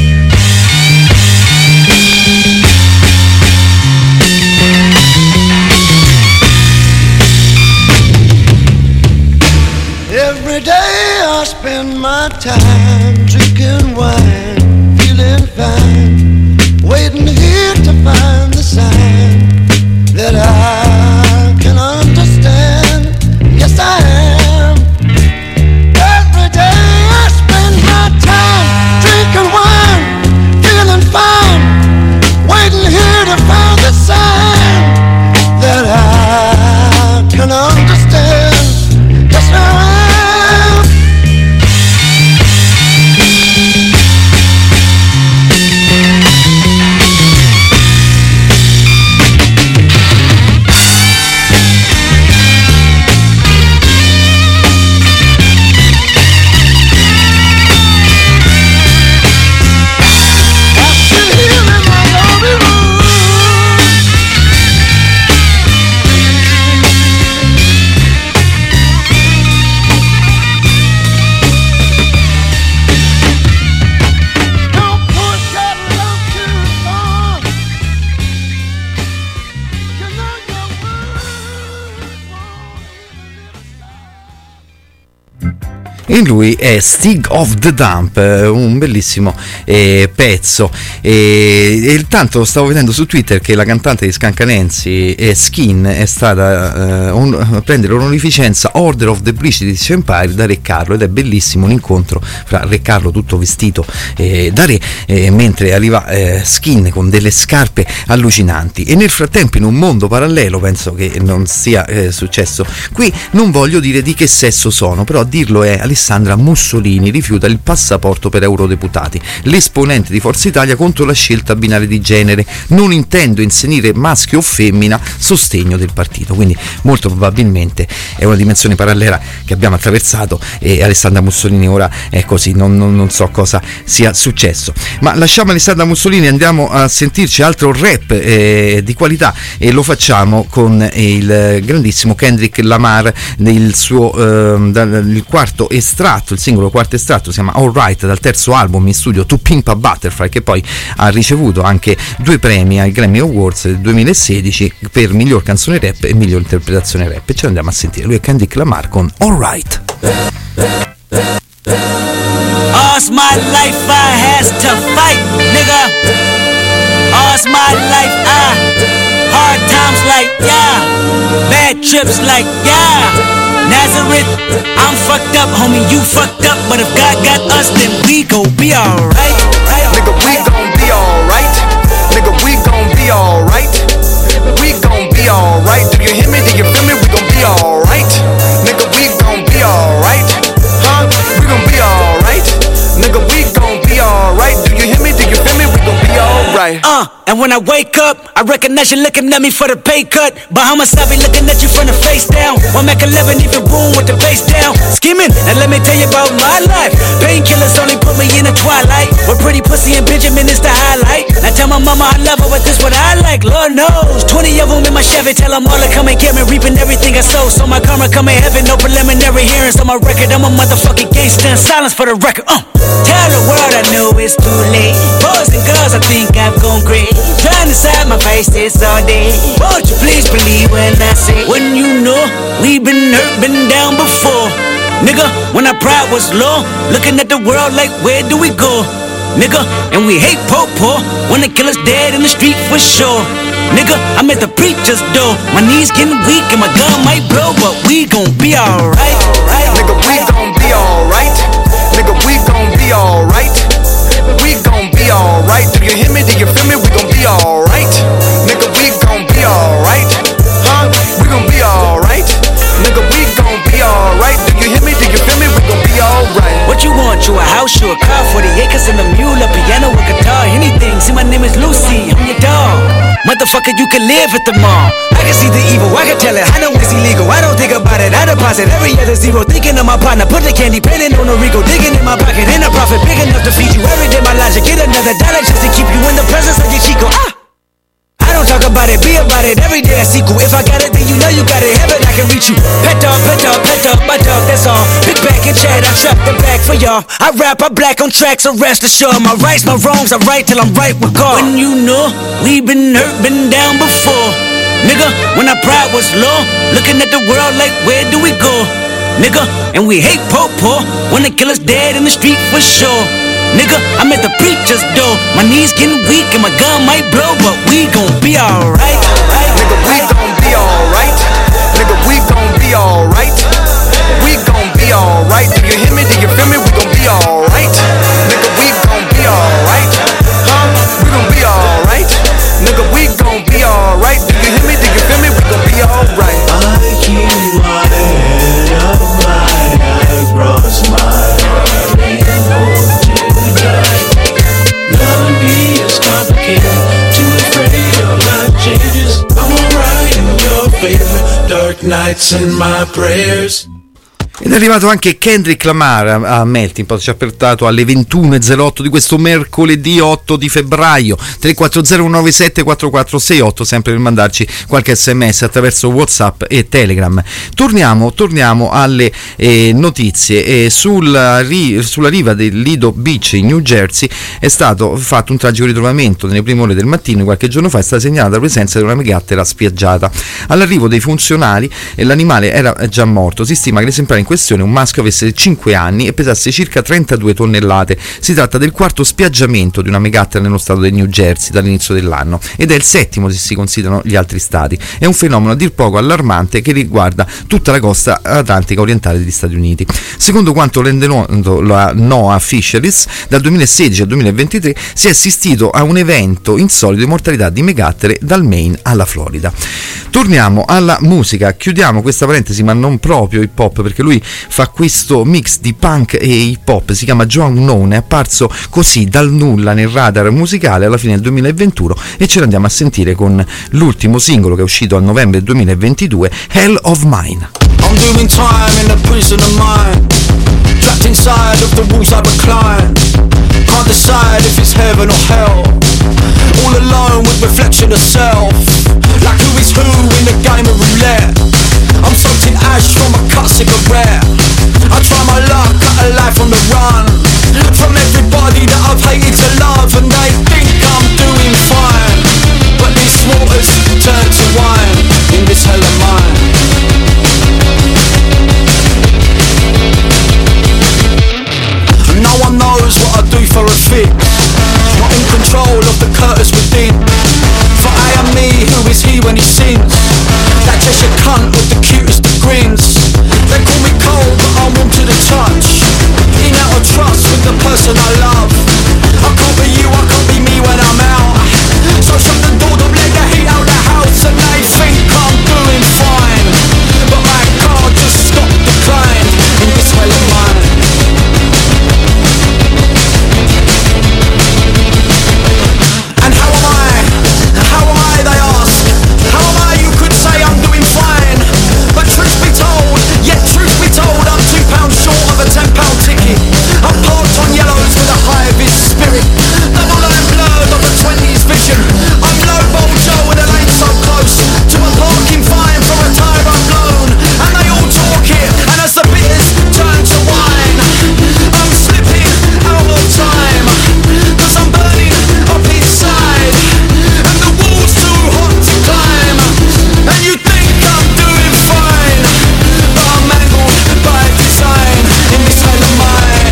E: Every day I spend my time drinking wine, feeling fine, waiting here to find the sign that I can understand. Yes, I am. Every day I spend my time drinking wine, feeling fine, waiting here to find the sign that I can understand. Yes, I am.
B: E lui è Stig of the Dump, un bellissimo eh, pezzo. E, e tanto stavo vedendo su Twitter che la cantante di Scancanensi eh, Skin è stata eh, un, a prendere l'onorificenza Order of the British Empire da Re Carlo, ed è bellissimo un incontro fra Re Carlo tutto vestito eh, da re, eh, mentre arriva eh, Skin con delle scarpe allucinanti. E nel frattempo, in un mondo parallelo, penso che non sia eh, successo qui, non voglio dire di che sesso sono, però a dirlo è Alessandra Mussolini, rifiuta il passaporto per eurodeputati. L'esponente di Forza Italia contro la scelta binare di genere: non intendo inserire maschio o femmina, sostegno del partito. Quindi molto probabilmente è una dimensione parallela che abbiamo attraversato, e Alessandra Mussolini ora è così, non, non, non so cosa sia successo. Ma lasciamo Alessandra Mussolini, andiamo a sentirci altro rap eh, di qualità, e lo facciamo con il grandissimo Kendrick Lamar, del suo eh, dal, il quarto estratto, il singolo quarto estratto si chiama Alright, dal terzo album in studio To Pimp a Butterfly, che poi ha ricevuto anche due premi ai Grammy Awards del duemilasedici per miglior canzone rap e miglior interpretazione rap, e ce l'andiamo a sentire. Lui è Kendrick Lamar con Alright.
R: All's my life I has to fight, nigga. All's my life I hard times like yeah, bad trips like yeah. Nazareth, I'm fucked up, homie, you fucked up, but if God got us, then we gon' be alright.
S: Nigga, we gon' be alright. Nigga, we gon' be alright. We gon' be alright. Do you hear me? Do you feel me? We gon' be alright. Nigga, we gon' be alright. Huh? We gon' be alright. Nigga, we gon' be alright. Do you hear me? Do you feel me? We gon' be alright.
R: Uh, and when I wake up, I recognize you looking at me for the pay cut. Bahamas, I be looking at you from the face down. One Mac eleven, even boom with the face down. Skimming, and let me tell you about my life. Painkillers only put me in the twilight. With pretty pussy and Benjamin is the highlight. I tell my mama I love her, but this what I like. Lord knows, twenty of them in my Chevy. Tell them all to come and get me, reaping everything I sow. So my karma come in heaven, no preliminary hearings on my record. I'm a motherfucking gangster in silence for the record. Uh. Tell the world I know it's too late. Boys and girls, I think I've gone great. Trying to side my face this all day. Won't you please believe when I say, when you know we've been hurt, been down before. Nigga, when our pride was low, looking at the world like where do we go? Nigga, and we hate po-po when they kill us dead in the street for sure. Nigga, I'm at the preacher's door. My knees getting weak and my gun might blow, but we gon' be alright.
S: Nigga, we gon' be alright. Nigga, we gon' be alright. We gon' be alright. Do you hear me? Do you feel me? We gon' be alright. Nigga, we gon' be alright. Huh? We gon' be alright. Nigga, we gon' be alright. Do you hear me? Do you feel me? We gon' be alright.
R: What you want? You a house, you a car, forty acres and a mule, a piano, a guitar, anything. See, my name is Lucy, I'm your dog. Motherfucker, you can live at the mall. I can see the evil, I can tell it, I know it's illegal. I don't think about it, I deposit every other zero. Thinking of my partner, put the candy, painting on a Rico. Digging in my pocket, ain't a profit big enough to feed you. Every day my logic, get another dollar just to keep you in the presence of your Chico. Ah! I don't talk about it, be about it, every day I sequel. If I got it, then you know you got it, heaven I can reach you. Pet dog, pet dog, pet dog, my dog, that's all. Big back and chat, I trap the back for y'all. I rap, I black on tracks, so rest assured. My rights, my wrongs, I right till I'm right with God. When you know, we been hurt, been down before. Nigga, when our pride was low, looking at the world like where do we go? Nigga, and we hate po-po when they kill us dead in the street for sure. Nigga, I'm at the preacher's door. My knees getting weak and my gun might blow, but we gon' be alright.
S: Nigga, we gon' be alright. Nigga, we gon' be alright. We gon' be alright. Do you hear me? Do you feel me? We gon' be alright. Nigga, we gon' be alright. Huh? We gon' be alright. Nigga, we gon' be alright. Do you hear me? Do you feel me? We gon' be alright.
J: I keep my head up high, I cross my heart and hold you tight. Loving me is complicated, too afraid of life changes. I'm alright in your favor, dark nights and my prayers.
B: Ed è arrivato anche Kendrick Lamar a Melting Pot, ci ha portato alle ventuno e zero otto di questo mercoledì otto di febbraio. Tre quattro zero uno nove sette quattro quattro sei otto, sempre per mandarci qualche sms attraverso WhatsApp e Telegram. Torniamo, torniamo alle eh, notizie. Eh, sulla, ri, sulla riva del Lido Beach in New Jersey è stato fatto un tragico ritrovamento nelle prime ore del mattino. Qualche giorno fa è stata segnalata la presenza di una megattera spiaggiata. All'arrivo dei funzionari eh, l'animale era già morto. Si stima che l'esemplare in questione, un maschio, avesse cinque anni e pesasse circa trentadue tonnellate. Si tratta del quarto spiaggiamento di una megattera nello stato del New Jersey dall'inizio dell'anno ed è il settimo se si considerano gli altri stati. È un fenomeno a dir poco allarmante che riguarda tutta la costa atlantica orientale degli Stati Uniti. Secondo quanto rende noto la NOAA Fisheries, dal duemilasedici al duemilaventitré si è assistito a un evento insolito di mortalità di megattere dal Maine alla Florida. Torniamo alla musica, chiudiamo questa parentesi, ma non proprio hip hop, perché lui fa questo mix di punk e hip hop, si chiama Joe Unknown, è apparso così dal nulla nel radar musicale alla fine del duemilaventuno e ce l'andiamo a sentire con l'ultimo singolo che è uscito a novembre duemilaventidue, Hell of Mine.
T: I'm doing time in the prison of mine, trapped inside of the walls I recline. Can't decide if it's heaven or hell, all alone with reflection of self, like who is who in the game of roulette. I'm soaked in ash from a cut cigarette. I try my luck, cut a life on the run from everybody that I've hated to love, and they think I'm doing fine, but this water's turned to wine in this hell of mine. No one knows what I do for a fix, not in control of the curtains within. For I am me, who is he when he sins? That Cheshire cunt with the cutest of grins. They call me cold, but I'm warm to the touch. In out of trust with the person I love. I can't be you, I can't be me when I'm out. So shut the door, don't let the heat out the house. And they think I'm doing fine, but my car just stopped decline in this hell of mine. And how am I? How am I, they ask? How am I, you could say I'm doing fine. But truth be told, yet truth be told, I'm two pounds short of a ten pound ticket. I'm parked on yellows with a high vis spirit. Double line blurred of a twenties vision. I'm lowball Joe with a lane so close to a parking fine for a tire I've blown. And they all talk it, and as the bitters turn to wine, I'm slipping out of time, cause I'm burning up inside, and the wall's too hot to climb. And you think I'm doing fine, but I'm mangled by design in this hell of mine.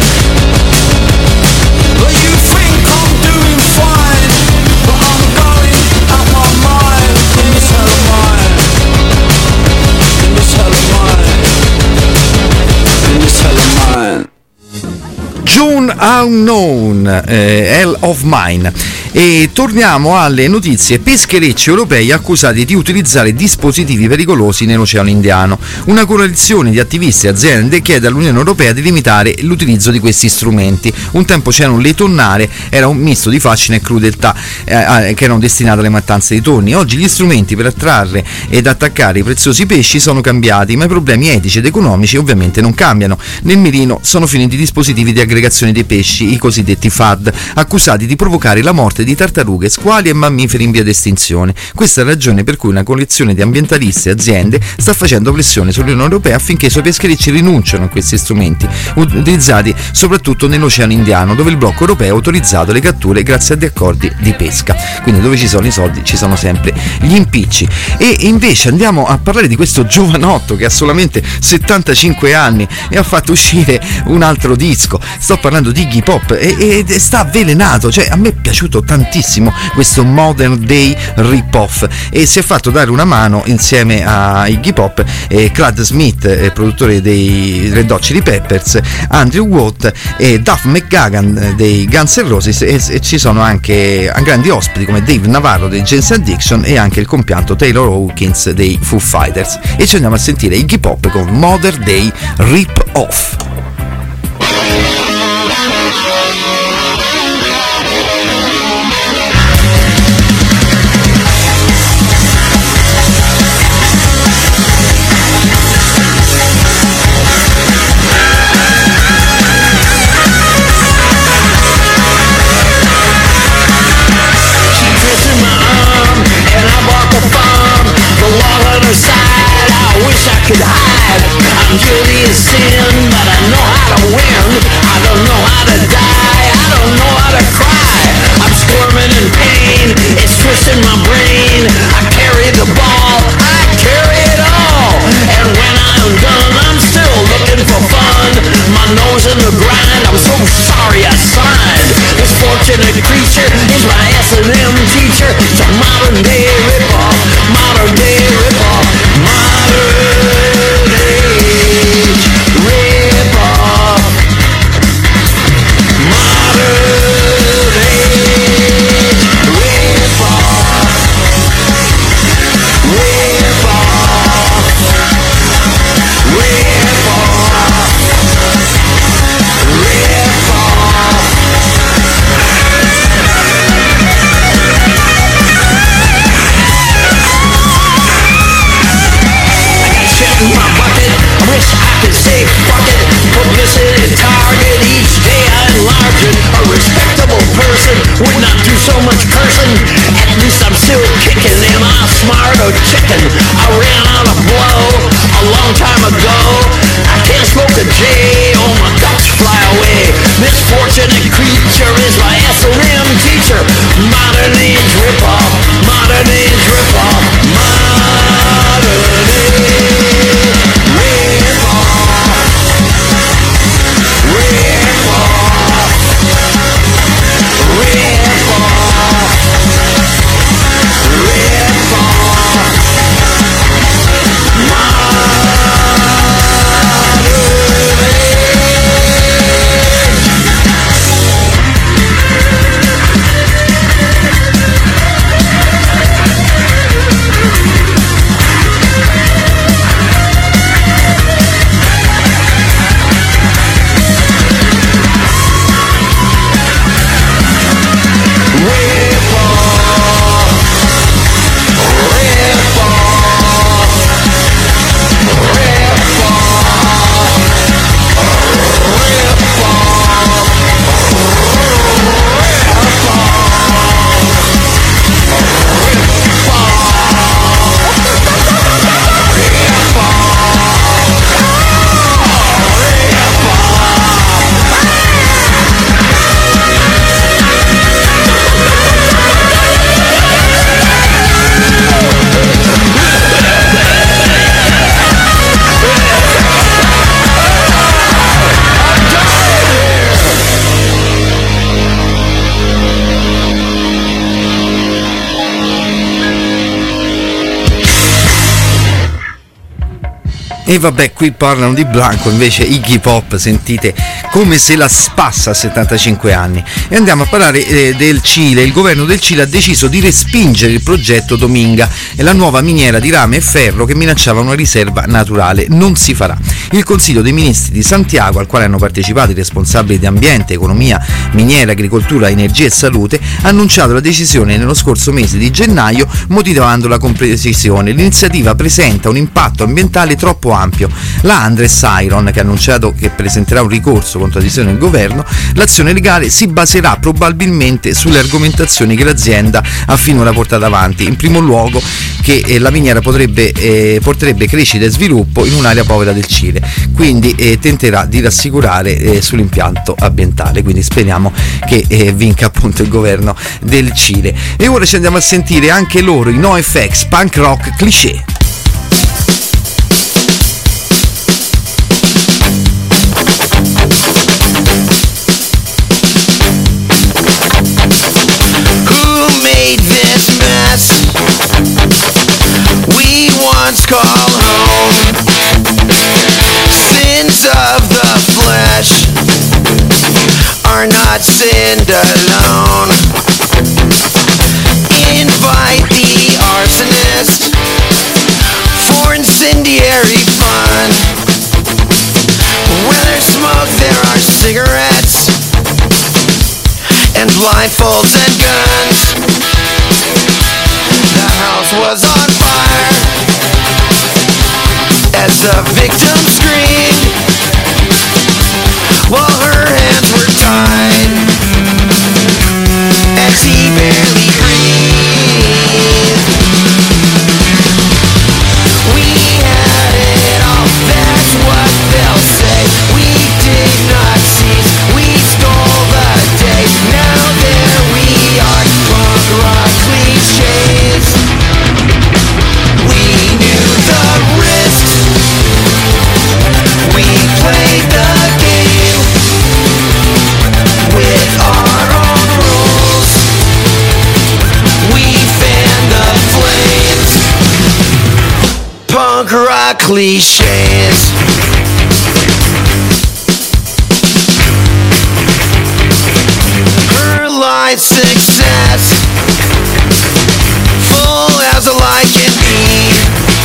T: But you think I'm doing fine, but I'm going out my mind in this hell of mine. In this hell of mine. In this hell of mine.
B: June Unknown, eh, Hell of Mine. E torniamo alle notizie. Pescherecci europei accusati di utilizzare dispositivi pericolosi nell'Oceano Indiano. Una coalizione di attivisti e aziende chiede all'Unione Europea di limitare l'utilizzo di questi strumenti. Un tempo c'erano le tonnare, era un misto di fascino e crudeltà eh, che erano destinate alle mattanze di tonni. Oggi gli strumenti per attrarre ed attaccare i preziosi pesci sono cambiati, ma i problemi etici ed economici ovviamente non cambiano. Nel mirino sono finiti i dispositivi di aggregazione dei pesci, i cosiddetti F A D, accusati di provocare la morte di tartarughe, squali e mammiferi in via d'estinzione. Questa è la ragione per cui una coalizione di ambientalisti e aziende sta facendo pressione sull'Unione Europea affinché i suoi pescherecci rinunciano a questi strumenti, utilizzati soprattutto nell'Oceano Indiano, dove il blocco europeo ha autorizzato le catture grazie agli accordi di pesca. Quindi dove ci sono i soldi ci sono sempre gli impicci. E invece andiamo a parlare di questo giovanotto che ha solamente settantacinque anni e ha fatto uscire un altro disco. Sto parlando di Iggy Pop e, e sta avvelenato, cioè a me è piaciuto tantissimo questo Modern Day rip-off e si è fatto dare una mano insieme a Iggy Pop e Clad Smith, eh, produttore dei Red Hot Chili Peppers, Andrew Watt e Duff McGagan dei Guns N' Roses e, e ci sono anche grandi ospiti come Dave Navarro dei Jane's Addiction e anche il compianto Taylor Hawkins dei Foo Fighters. E ci andiamo a sentire Iggy Pop con Modern Day Rip-Off.
E: Could hide. I'm guilty of sin, but I know how to win. I don't know how to die, I don't know how to cry. I'm squirming in pain, it's twisting my brain. I carry the ball, I carry it all. And when I'm done, I'm still looking for
B: E vabbè, qui parlano di Blanco, invece Iggy Pop, sentite come se la spassa a settantacinque anni. E andiamo a parlare eh, del Cile. Il governo del Cile ha deciso di respingere il progetto Dominga, la nuova miniera di rame e ferro che minacciava una riserva naturale. Non si farà. Il Consiglio dei Ministri di Santiago, al quale hanno partecipato i responsabili di ambiente, economia, miniera, agricoltura, energia e salute, ha annunciato la decisione nello scorso mese di gennaio, motivandola con precisione. L'iniziativa presenta un impatto ambientale troppo ampio. La Andres Iron, che ha annunciato che presenterà un ricorso contro la decisione del governo, l'azione legale si baserà probabilmente sulle argomentazioni che l'azienda ha finora portato avanti. In primo luogo che eh, la miniera potrebbe, eh, porterebbe crescita e sviluppo in un'area povera del Cile, quindi eh, tenterà di rassicurare eh, sull'impianto ambientale, quindi speriamo che eh, vinca appunto il governo del Cile. E ora ci andiamo a sentire anche loro, i NoFX, punk rock cliché.
E: We once call home. Sins of the flesh are not sinned alone. Invite the arsonist for incendiary fun. Where there's smoke there are cigarettes and blindfolds and guns. The house was on fire as the victim screamed while her hands were tied as he barely breathed. We had it all, that's what they'll say. We did not seize, we stole the day. Now there we are, punk rock cliches. We knew the risks, we played the game with our own rules. We fanned the flames, punk rock cliches. Her life success, full as a lie can be.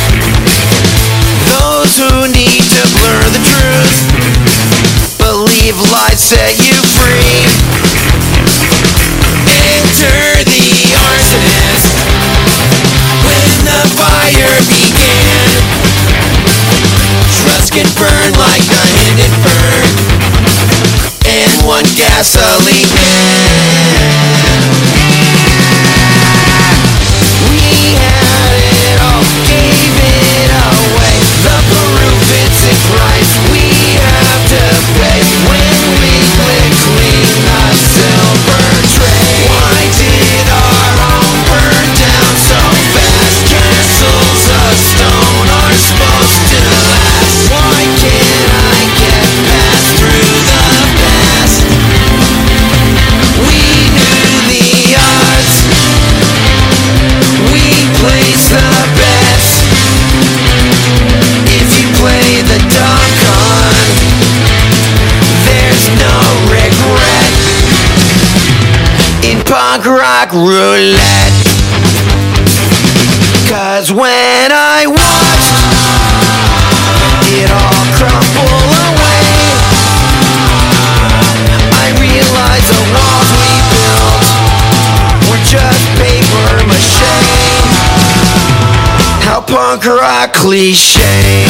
E: Those who need to blur the truth believe lies set you free. Enter the arsonist when the fire began. Trust can burn like the Hindenburg and one gasoline man. We had it all, gave it away. The Peru Vincent price we have to pay when we lick clean the silver tray. Why did our home burn down so fast? Castles of stone are supposed to last. Why can't I get past through the past? We knew the odds, we place the bets. If you play the dumb con, there's no regret in punk rock roulette. Cause when I watched it all crumble away, I realized the walls we built were just paper mache. How punk rock cliché.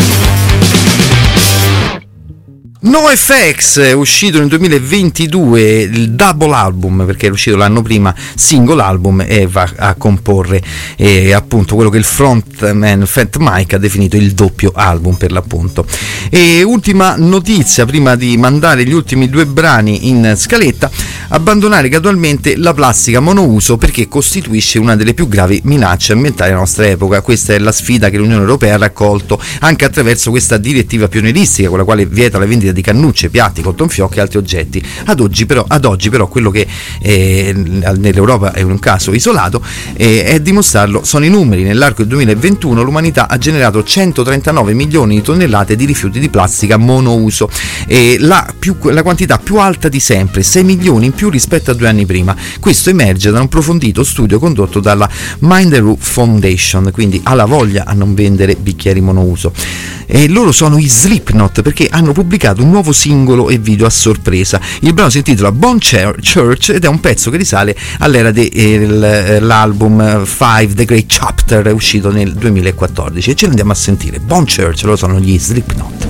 B: NoFX è uscito nel duemilaventidue, il double album, perché era uscito l'anno prima single album, e va a comporre eh, appunto quello che il frontman Fat Mike ha definito il doppio album per l'appunto. E ultima notizia prima di mandare gli ultimi due brani in scaletta: abbandonare gradualmente la plastica monouso perché costituisce una delle più gravi minacce ambientali della nostra epoca. Questa è la sfida che l'Unione Europea ha raccolto anche attraverso questa direttiva pionieristica con la quale vieta la vendita di cannucce, piatti, cotton fioc e altri oggetti. Ad oggi però, ad oggi però quello che eh, nell'Europa è un caso isolato eh, è dimostrarlo sono i numeri. Nell'arco del duemilaventuno l'umanità ha generato centotrentanove milioni di tonnellate di rifiuti di plastica monouso, e la, più, la quantità più alta di sempre, sei milioni in più rispetto a due anni prima. Questo emerge da un approfondito studio condotto dalla Mind the Roof Foundation, quindi ha la voglia a non vendere bicchieri monouso. E loro sono i Slipknot, perché hanno pubblicato un nuovo singolo e video a sorpresa. Il brano si intitola Bone Church ed è un pezzo che risale all'era dell'album Five The Great Chapter, uscito nel duemilaquattordici, e ce l'andiamo a sentire. Bone Church, loro sono gli Slipknot.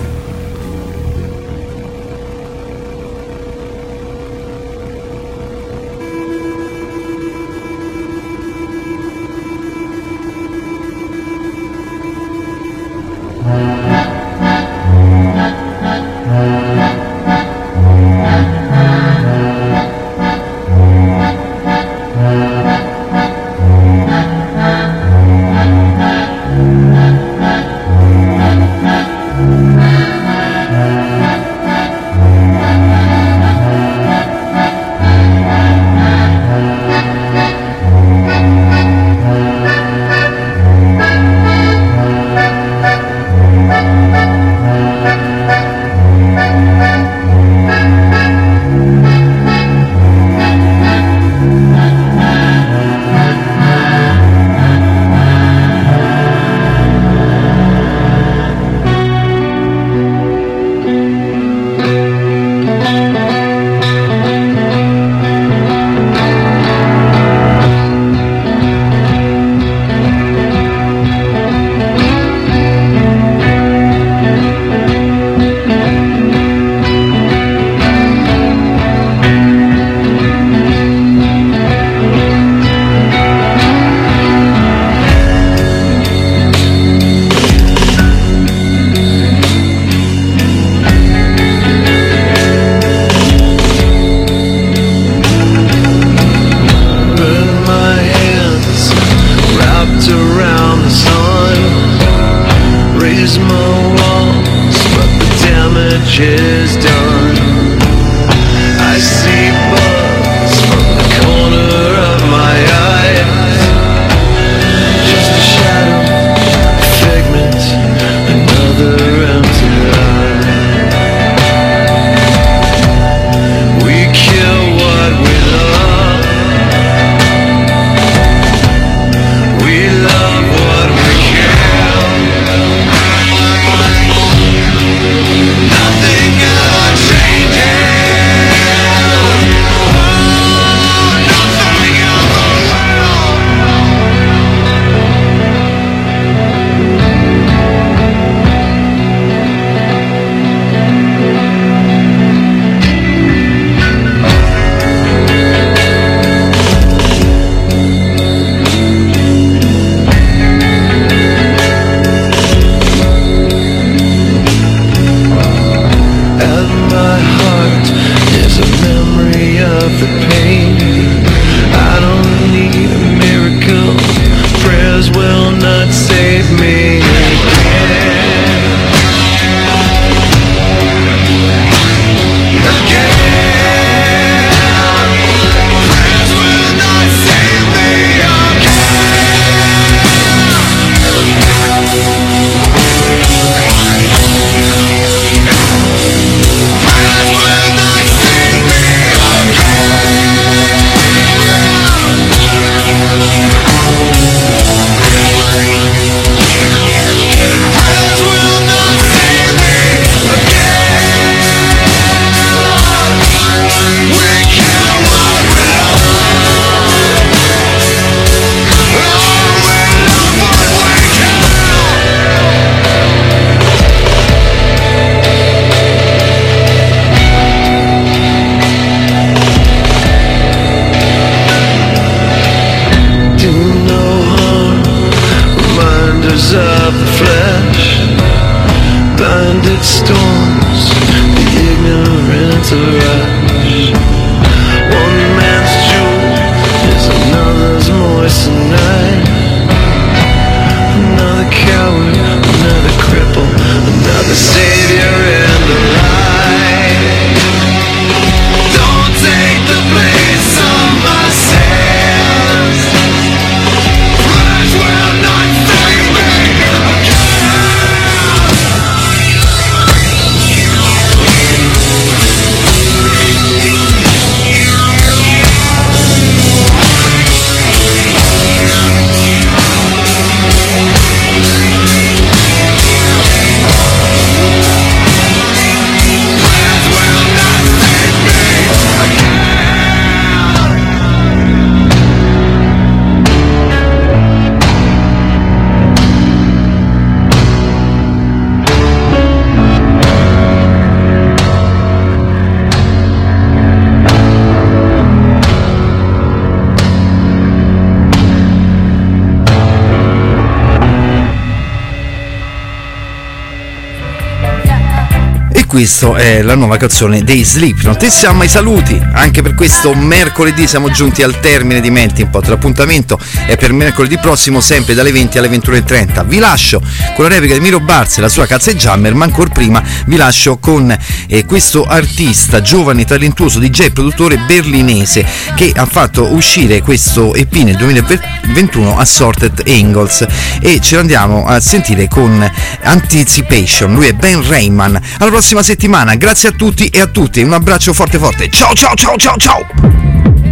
B: questo è la nuova canzone dei Slipknot. E siamo ai saluti, anche per questo mercoledì siamo giunti al termine di Melting Pot. L'appuntamento è per mercoledì prossimo, sempre dalle venti alle ventuno e trenta. Vi lascio con la replica di Miro Barz e la sua Cazza e Jammer, ma ancora prima vi lascio con eh, questo artista giovane, talentuoso, D J, produttore berlinese, che ha fatto uscire questo E P nel duemilaventuno, Assorted Angles, e ce l'andiamo a sentire con Anticipation. Lui è Ben Rayman. Alla prossima settimana, grazie a tutti e a tutte, un abbraccio forte forte, ciao ciao ciao ciao ciao.